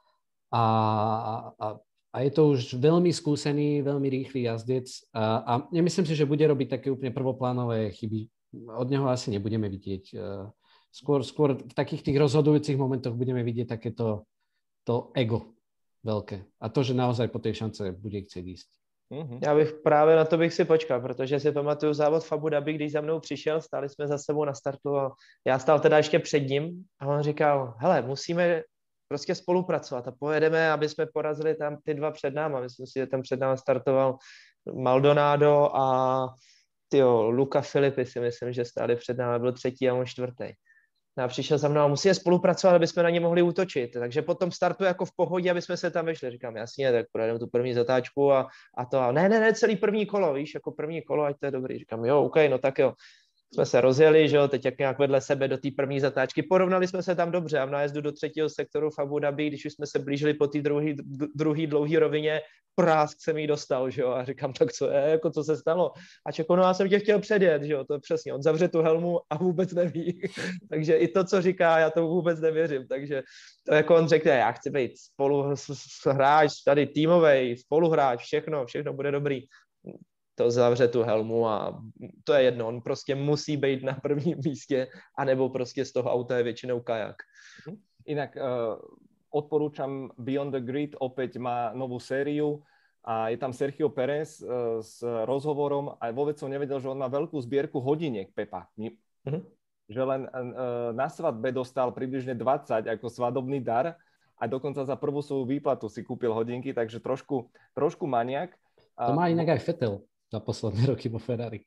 a, a, a je to už veľmi skúsený, veľmi rýchly jazdec a, a nemyslím si, že bude robiť také úplne prvoplánové chyby. Od neho asi nebudeme vidieť. Skôr, skôr v takých tých rozhodujúcich momentoch budeme vidieť takéto to ego veľké. A to, že naozaj po tej šance bude chcieť ísť. Mm-hmm. Já bych právě na to bych si počkal, protože si pamatuju závod v Abu Dhabi, když za mnou přišel, stáli jsme za sebou na startu a já stál teda ještě před ním a on říkal, hele, musíme prostě spolupracovat a pojedeme, aby jsme porazili tam ty dva před náma. Myslím si, že tam před náma startoval Maldonado a tyjo, Luca Filippi si myslím, že stáli před náma, byl třetí a on čtvrtý. A přišel za mnou a musíme spolupracovat, aby jsme na ně mohli útočit. Takže potom startu jako v pohodě, aby jsme se tam vyšli. Říkám, jasně, tak projedeme tu první zatáčku a, a to. A ne, ne, ne, celý první kolo, víš, jako první kolo, ať to je dobrý. Říkám, jo, OK, no tak jo. Jsme se rozjeli, že jo, teď jak nějak vedle sebe do té první zatáčky. Porovnali jsme se tam dobře a v nájezdu do třetího sektoru v Abu Dhabi, když už jsme se blížili po té druhé dlouhé rovině, prásk jsem jí dostal, že jo, a říkám, tak co je, jako co se stalo? A čekal, no já jsem tě chtěl předjet, že jo, to přesně, on zavře tu helmu a vůbec neví. Takže i to, co říká, já to vůbec nevěřím, takže to jako on řekne, já chci být spoluhráč, tady týmovej, spoluhráč, všechno, všechno bude dobrý. To zavře tu helmu a to je jedno, on prostě musí být na prvním místě, anebo prostě z toho auta je většinou kajak. Inak uh, odporúčam Beyond the Grid, opäť má novú sériu a je tam Sergio Pérez uh, s rozhovorom a vôbec som nevedel, že on má veľkú zbierku hodiniek, Pepa. Mm-hmm. Že len uh, na svadbe dostal približne dvadsať ako svadobný dar a dokonca za prvú svoju výplatu si kúpil hodinky, takže trošku, trošku maniak. To má inak aj Vettel za posledné roky vo Ferrari.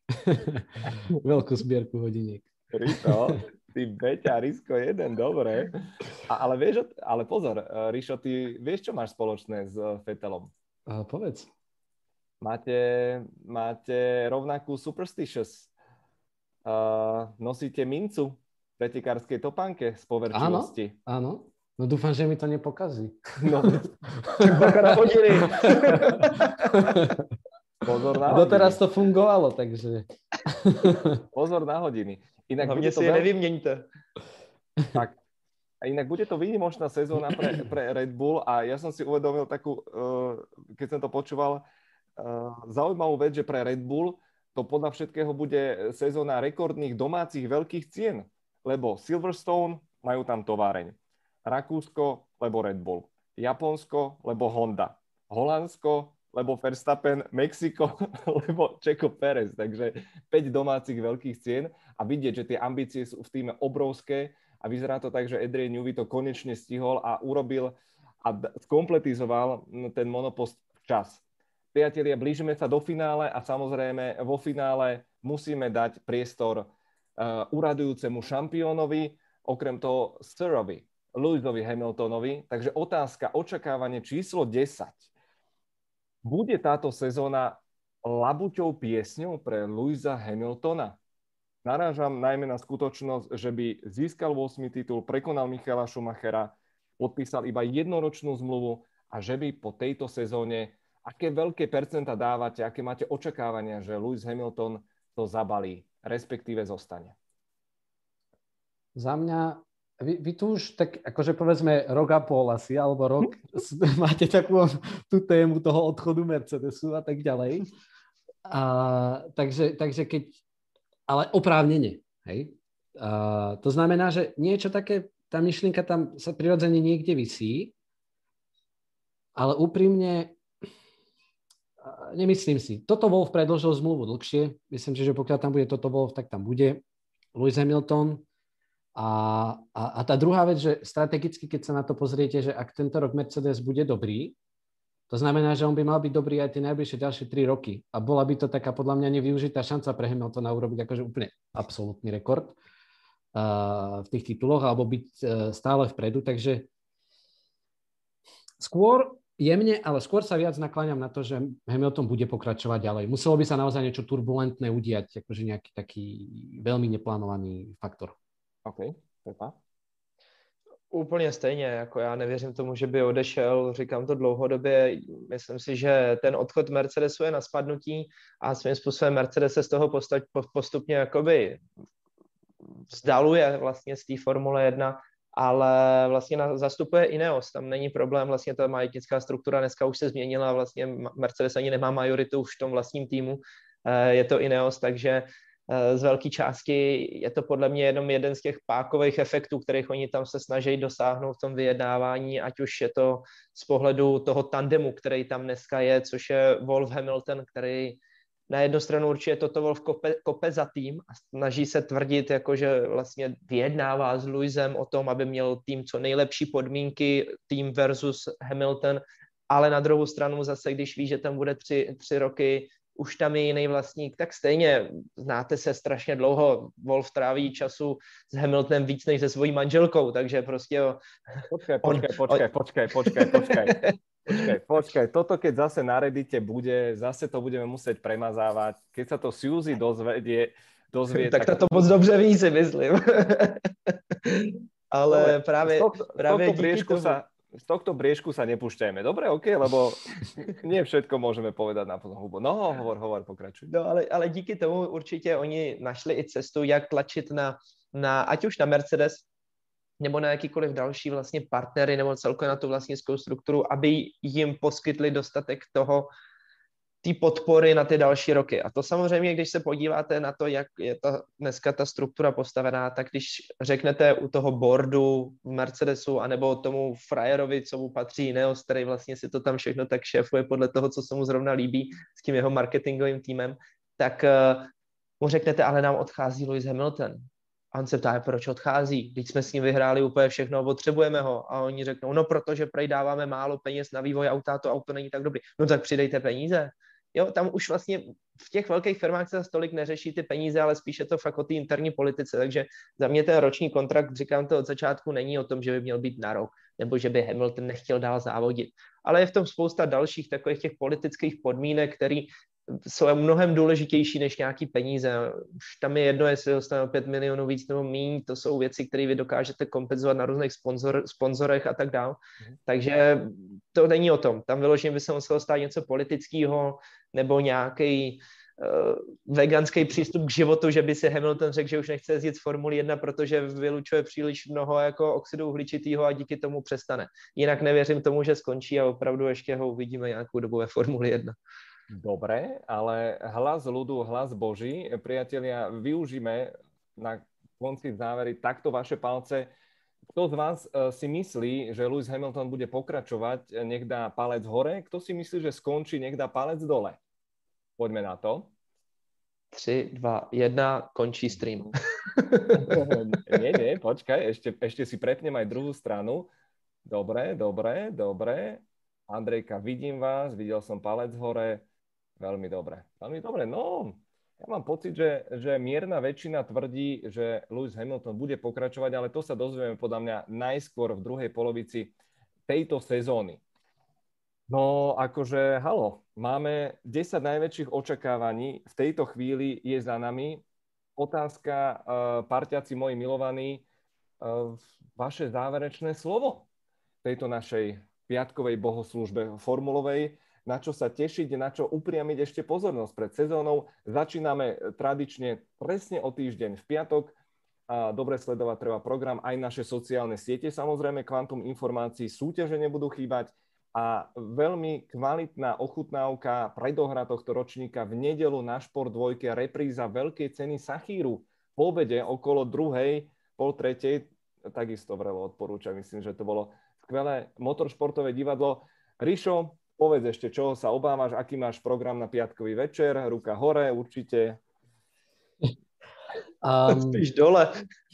Veľkú zbierku hodiniek. Rišo, ty Beťa, Risko jeden, dobre. A, ale, vieš, ale pozor, Rišo, ty vieš, čo máš spoločné s Vettelom? A povedz. Máte, máte rovnakú superstitious. Uh, nosíte mincu v pretekárskej topánke z poverčivosti. Áno, áno. No dúfam, že mi to nepokazí. No, tak baka na hodiny. Pozor na hodiny. Doteraz to fungovalo, takže... Pozor na hodiny. Inak hlavne si je veľ... nevyměňte. Tak. A inak bude to výnimočná sezóna pre, pre Red Bull a ja som si uvedomil takú, uh, keď som to počúval, uh, zaujímavú vec, že pre Red Bull to podľa všetkého bude sezóna rekordných domácich veľkých cien, lebo Silverstone majú tam továreň. Rakúsko, lebo Red Bull. Japonsko, lebo Honda. Holandsko, lebo Verstappen, Mexiko, lebo Checo Pérez. Takže päť domácich veľkých cien a vidieť, že tie ambície sú v týme obrovské a vyzerá to tak, že Adrian Newey to konečne stihol a urobil a skompletizoval ten monopost včas. Priatelia, blížime sa do finále a samozrejme vo finále musíme dať priestor uh, uradujúcemu šampiónovi, okrem toho Sirovi, Lewisovi Hamiltonovi. Takže otázka, očakávanie číslo desať. Bude táto sezóna labuťou piesňou pre Lewisa Hamiltona? Narážam najmä na skutočnosť, že by získal ôsmy titul, prekonal Michaela Schumachera, podpísal iba jednoročnú zmluvu a že by po tejto sezóne, aké veľké percenta dávate, aké máte očakávania, že Lewis Hamilton to zabalí, respektíve zostane? Za mňa Vy, vy tu už tak, akože povedzme rok a pol asi, alebo rok máte takú tú tému toho odchodu Mercedesu a tak ďalej. A, takže, takže keď, ale oprávnene, hej. A, to znamená, že niečo také, tá myšlienka tam sa prirodzene niekde visí, ale úprimne nemyslím si. Toto Wolff predĺžil zmluvu dlhšie. Myslím si, že pokiaľ tam bude Toto Wolff, tak tam bude Lewis Hamilton. A, a, a tá druhá vec, že strategicky, keď sa na to pozriete, že ak tento rok Mercedes bude dobrý, to znamená, že on by mal byť dobrý aj tie najbližšie ďalšie tri roky. A bola by to taká podľa mňa nevyužitá šanca pre Hamiltona urobiť akože úplne absolútny rekord uh, v tých tituloch alebo byť uh, stále vpredu. Takže skôr jemne, ale skôr sa viac nakláňam na to, že Hamilton bude pokračovať ďalej. Muselo by sa naozaj niečo turbulentné udiať, akože nejaký taký veľmi neplánovaný faktor. OK, Pepa? Úplně stejně, jako já nevěřím tomu, že by odešel, říkám to dlouhodobě, myslím si, že ten odchod Mercedesu je na spadnutí a svým způsobem Mercedes se z toho postupně jakoby vzdaluje vlastně z té Formule jedna ale vlastně na, zastupuje Ineos, tam není problém, vlastně ta majetnická struktura dneska už se změnila, vlastně Mercedes ani nemá majoritu už v tom vlastním týmu, je to Ineos, takže z velké části je to podle mě jenom jeden z těch pákových efektů, kterých oni tam se snaží dosáhnout v tom vyjednávání, ať už je to z pohledu toho tandemu, který tam dneska je, což je Wolff Hamilton, který na jednu stranu určitě toto Wolff kope, kope za tým a snaží se tvrdit, jako že vlastně vyjednává s Lewisem o tom, aby měl tým co nejlepší podmínky, tým versus Hamilton, ale na druhou stranu zase, když ví, že tam bude tři, tři roky, už tam je jiný vlastník, tak stejně znáte se strašně dlouho. Wolff tráví času s Hamiltonem víc než se svojí manželkou, takže prostě... Jo, počkaj, počkaj, on, počkaj, on... počkaj, počkaj, počkaj, počkaj, počkaj. Toto keď zase na Reddite bude, zase to budeme musieť premazávať. Keď sa to Suzy dozvedie, dozvie... tak, tak to moc dobře ví, si myslím. Ale no, právě, z tohto, právě z tohto briežku tomu... sa... Z tohto briežku sa nepúšťajme. Dobre, OK, lebo nie všetko môžeme povedať na plnou hubu. No, hovor, hovor, pokračuj. No, ale, ale díky tomu určitě oni našli i cestu, jak tlačit na, na ať už na Mercedes, nebo na jakýkoliv další vlastně partnery, nebo celkově na tu vlastnickou strukturu, aby jim poskytli dostatek toho, té podpory na ty další roky. A to samozřejmě, když se podíváte na to, jak je ta, dneska ta struktura postavená, tak když řeknete u toho boardu v Mercedesu, anebo tomu frajerovi, co mu patří Ineos, který vlastně si to tam všechno tak šéfuje podle toho, co se mu zrovna líbí s tím jeho marketingovým týmem, tak uh, mu řeknete, ale nám odchází Lewis Hamilton. A on se ptá, proč odchází, když jsme s ním vyhráli úplně všechno a potřebujeme ho. A oni řeknou, no protože prej dáváme málo peněz na vývoj auta, to auto není tak dobrý. No tak přidejte peníze. Jo, tam už vlastně v těch velkých firmách se tolik neřeší ty peníze, ale spíše to fakt o té interní politice. Takže za mě ten roční kontrakt, říkám to od začátku, není o tom, že by měl být na rok, nebo že by Hamilton nechtěl dál závodit. Ale je v tom spousta dalších takových těch politických podmínek, které jsou mnohem důležitější než nějaký peníze. Už tam je jedno, jestli dostane pět milionů víc nebo míň, to jsou věci, které vy dokážete kompenzovat na různých sponzor, sponzorech a tak dále. Mm. Takže to není o tom. Tam vyloženě by se muselo stát něco politického nebo nějaký uh, veganský přístup k životu, že by si Hamilton řekl, že už nechce jezdit z Formuli jedna, protože vylučuje příliš mnoho jako oxidu uhličitého a díky tomu přestane. Jinak nevěřím tomu, že skončí a opravdu ještě ho uvidíme nějakou dobu ve Formuli jedna. Dobre, ale hlas ľudu, hlas Boží. Priatelia, využíme na konci závery takto vaše palce. Kto z vás si myslí, že Lewis Hamilton bude pokračovať, nech dá palec hore? Kto si myslí, že skončí, nech dá palec dole? Poďme na to. tři, dva, jedna, končí stream. nie, nie, počkaj, ešte, ešte si prepnem aj druhú stranu. Dobre, dobre, dobre. Andrejka, vidím vás, videl som palec hore. Veľmi dobre, veľmi dobre. No, ja mám pocit, že, že mierna väčšina tvrdí, že Lewis Hamilton bude pokračovať, ale to sa dozvieme podľa mňa najskôr v druhej polovici tejto sezóny. No, akože, halo, máme desať najväčších očakávaní, v tejto chvíli je za nami. Otázka, uh, parťaci moji milovaní, uh, vaše záverečné slovo tejto našej piatkovej bohoslúžbe formulovej, na čo sa tešiť, na čo upriamiť ešte pozornosť pred sezónou. Začíname tradične presne o týždeň v piatok. A dobre sledovať treba program, aj naše sociálne siete. Samozrejme, kvantum informácií, súťaže nebudú chýbať a veľmi kvalitná ochutnávka predohra tohto ročníka v nedeľu na Šport dvojke, repríza veľkej ceny Sachíru po obede okolo druhej, pol tretej. Takisto vrelo odporúčam, myslím, že to bolo skvelé motoršportové divadlo. Rišo, povedz ešte, čoho sa obávaš, aký máš program na piatkový večer, ruka hore, určite. Um... Spíš dole.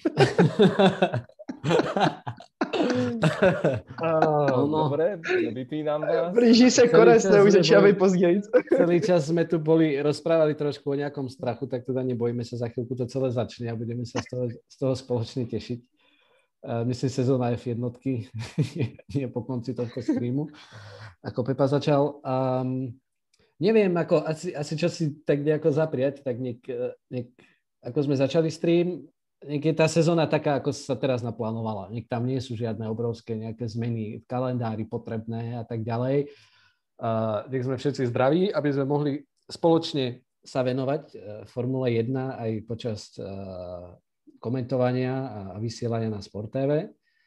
oh, no. Dobre, vypínam vás. Blíži sa konec, už začínajú později. Celý čas sme tu boli, rozprávali trošku o nejakom strachu, tak teda nebojíme sa, za chvíľku to celé začne a budeme sa z toho, z toho spoločne tešiť. Uh, myslím, sezóna F jednotky nie po konci tohto streamu. Ako Pepa začal. Um, neviem, ako, asi, asi čo si tak nejako zapriať, tak niek, niek, ako sme začali stream, niek je tá sezóna taká, ako sa teraz naplánovala. Niek tam nie sú žiadne obrovské nejaké zmeny v kalendári potrebné a tak ďalej. Uh, nech sme všetci zdraví, aby sme mohli spoločne sa venovať uh, Formule jedna aj počas uh, komentovania a vysielania na Sport té vé.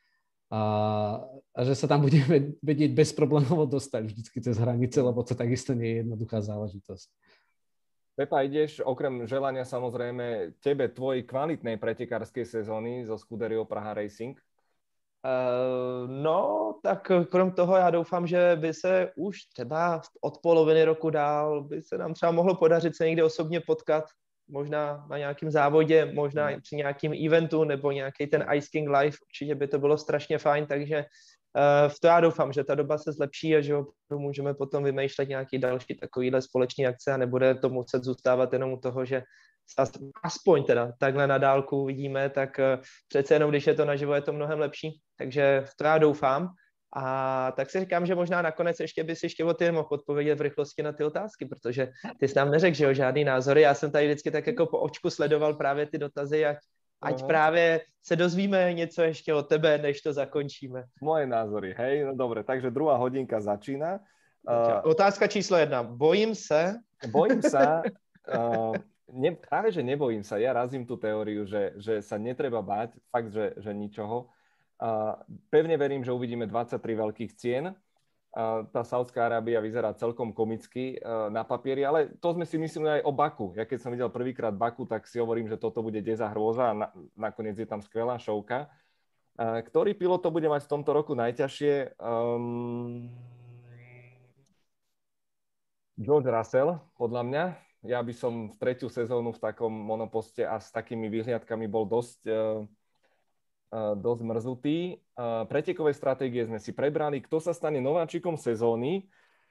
a, a že sa tam budeme vedieť bezproblémovo dostať vždycky cez hranice, lebo to takisto nie je jednoduchá záležitosť. Pepa, ideš okrem želania samozrejme tebe tvojej kvalitnej pretekárskej sezóny zo Scuderio Praha Racing? Uh, no, tak krom toho já doufám, že by se už třeba od poloviny roku dál by se nám třeba mohlo podařit se někde osobně potkat, možná na nějakém závodě, možná no. při nějakým eventu nebo nějaký ten Ice King Live, určitě by to bylo strašně fajn, takže uh, v to já doufám, že ta doba se zlepší a že můžeme potom vymýšlet nějaký další takovýhle společný akce a nebude to muset zůstávat jenom u toho, že aspoň teda takhle na dálku vidíme, tak uh, přece jenom, když je to naživo, je to mnohem lepší, takže v to já doufám. A tak si říkám, že možná nakonec ještě bys ještě o ty mohl odpovědět v rychlosti na ty otázky, protože ty jsi nám neřekl, že jo, žádný názory. Já jsem tady vždycky tak jako po očku sledoval právě ty dotazy, ať, ať právě se dozvíme něco ještě o tebe, než to zakončíme. Moje názory, hej, no dobre, takže druhá hodinka začína. Uh, Otázka číslo jedna. Bojím se? Bojím sa, uh, ne, práve že nebojím sa, ja razím tú teóriu, že, že sa netreba báť, fakt, že, že ničoho. Uh, pevne verím, že uvidíme dvadsaťtri veľkých cien. Uh, tá Saudská Arábia vyzerá celkom komicky uh, na papieri, ale to sme si mysleli aj o Baku. Ja keď som videl prvýkrát Baku, tak si hovorím, že toto bude deza hrôza a na, nakoniec je tam skvelá šovka. Uh, ktorý pilot to bude mať v tomto roku najťažšie? Um, George Russell, podľa mňa. Ja by som v tretiu sezónu v takom monoposte a s takými výhliadkami bol dosť... Uh, dosť mrzutý. Pretekové stratégie sme si prebrali. Kto sa stane nováčikom sezóny?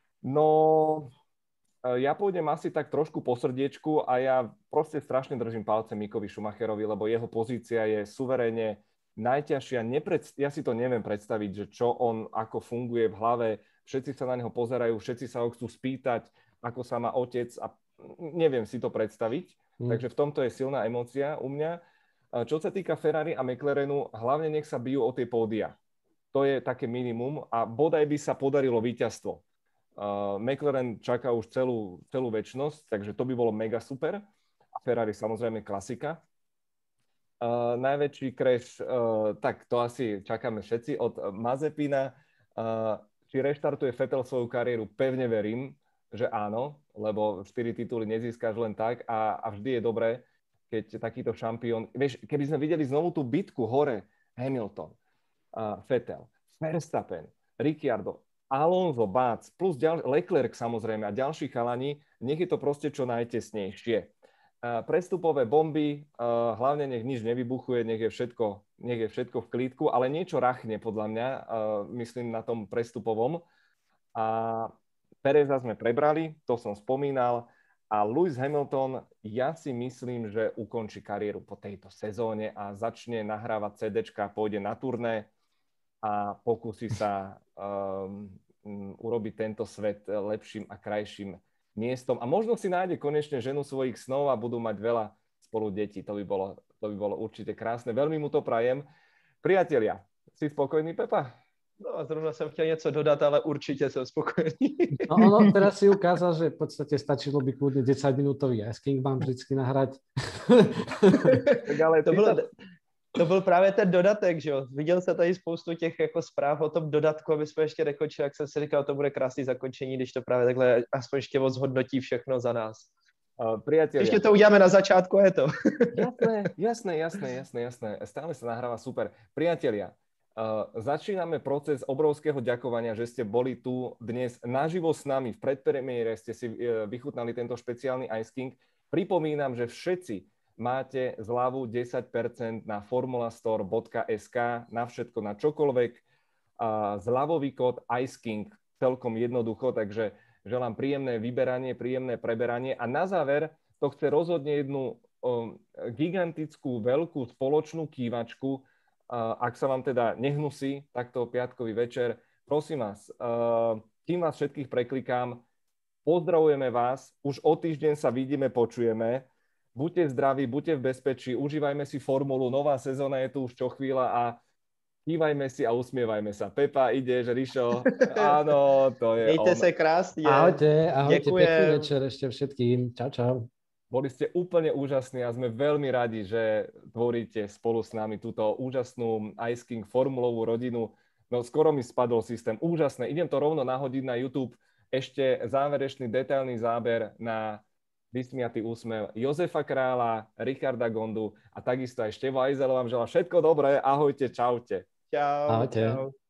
No, ja pôjdem asi tak trošku po srdiečku a ja proste strašne držím palce Mickovi Schumacherovi, lebo jeho pozícia je suverénne najťažšia. Nepred... Ja si to neviem predstaviť, že čo on, ako funguje v hlave. Všetci sa na neho pozerajú, všetci sa ho chcú spýtať, ako sa má otec a neviem si to predstaviť. Hmm. Takže v tomto je silná emócia u mňa. Čo sa týka Ferrari a McLarenu, hlavne nech sa bijú o tie pódia. To je také minimum a bodaj by sa podarilo víťazstvo. Uh, McLaren čaká už celú, celú večnosť, takže to by bolo mega super. A Ferrari samozrejme klasika. Uh, najväčší crash, uh, tak to asi čakáme všetci od Mazepina. Uh, či reštartuje Vettel svoju kariéru? Pevne verím, že áno, lebo štyri tituly nezískaš len tak a, a vždy je dobré, keď takýto šampión... Vieš, keby sme videli znovu tú bitku hore, Hamilton, uh, Vettel, Verstappen, Ricciardo, Alonso, Bác, plus ďal... Leclerc samozrejme a ďalší chalani, nech je to proste čo najtesnejšie. Uh, prestupové bomby, uh, hlavne nech nič nevybuchuje, nech je všetko, nech je všetko v klídku, ale niečo rachne podľa mňa, uh, myslím na tom prestupovom. A Pereza sme prebrali, to som spomínal. A Lewis Hamilton, ja si myslím, že ukončí kariéru po tejto sezóne a začne nahrávať CDčka, pôjde na turné a pokúsi sa um, urobiť tento svet lepším a krajším miestom. A možno si nájde konečne ženu svojich snov a budú mať veľa spolu detí. To by bolo, to by bolo určite krásne. Veľmi mu to prajem. Priatelia, si spokojný, Pepa? No a zrovna jsem chtěl něco dodat, ale určitě jsem spokojený. No ono teraz si ukázal, že v podstate stačilo by kľudne desaťminútový Ice King vám vždycky nahrať. to, bylo, to byl právě ten dodatek, že jo. Viděl jsem tady spoustu těch jako zpráv o tom dodatku, aby jsme ještě nekončili, jak jsem si říkal, to bude krásný zakončení, když to právě takhle aspoň ještě zhodnotí všechno za nás. Uh, priatelia. Ešte to uděláme na začátku, je to. jasné, jasné, jasné, jasné, jasné. Stále sa nahráva super. Priatelia, uh, začíname proces obrovského ďakovania, že ste boli tu dnes naživo s nami. V predpremiére ste si uh, vychutnali tento špeciálny Ice King. Pripomínam, že všetci máte zľavu desať percent na formulastore bodka es ká, na všetko, na čokoľvek. Uh, zľavový kód Ice King, celkom jednoducho, takže želám príjemné vyberanie, príjemné preberanie a na záver to chce rozhodne jednu um, gigantickú, veľkú spoločnú kývačku. Uh, ak sa vám teda nehnusí takto piatkový večer, prosím vás, uh, kým vás všetkých preklikám, pozdravujeme vás, už o týždeň sa vidíme, počujeme. Buďte zdraví, buďte v bezpečí, užívajme si formulu, nová sezóna je tu už čo chvíľa a kývajme si a usmievajme sa. Pepa, ideš, Rišo. Áno, to je Mějte on. se krásně. Ahojte, ahojte, Děkujem. pekný večer ešte všetkým. Čau, čau. Boli ste úplne úžasní a sme veľmi radi, že tvoríte spolu s nami túto úžasnú Ice King formulovú rodinu. No skoro mi spadol systém. Úžasné. Idem to rovno nahodiť na YouTube. Ešte záverečný detailný záber na vysmiatý úsmev Jozefa Krála, Richarda Gondu a takisto aj Števo Ajzel vám želá všetko dobré. Ahojte, čaute. Čau. Ahojte. Čau.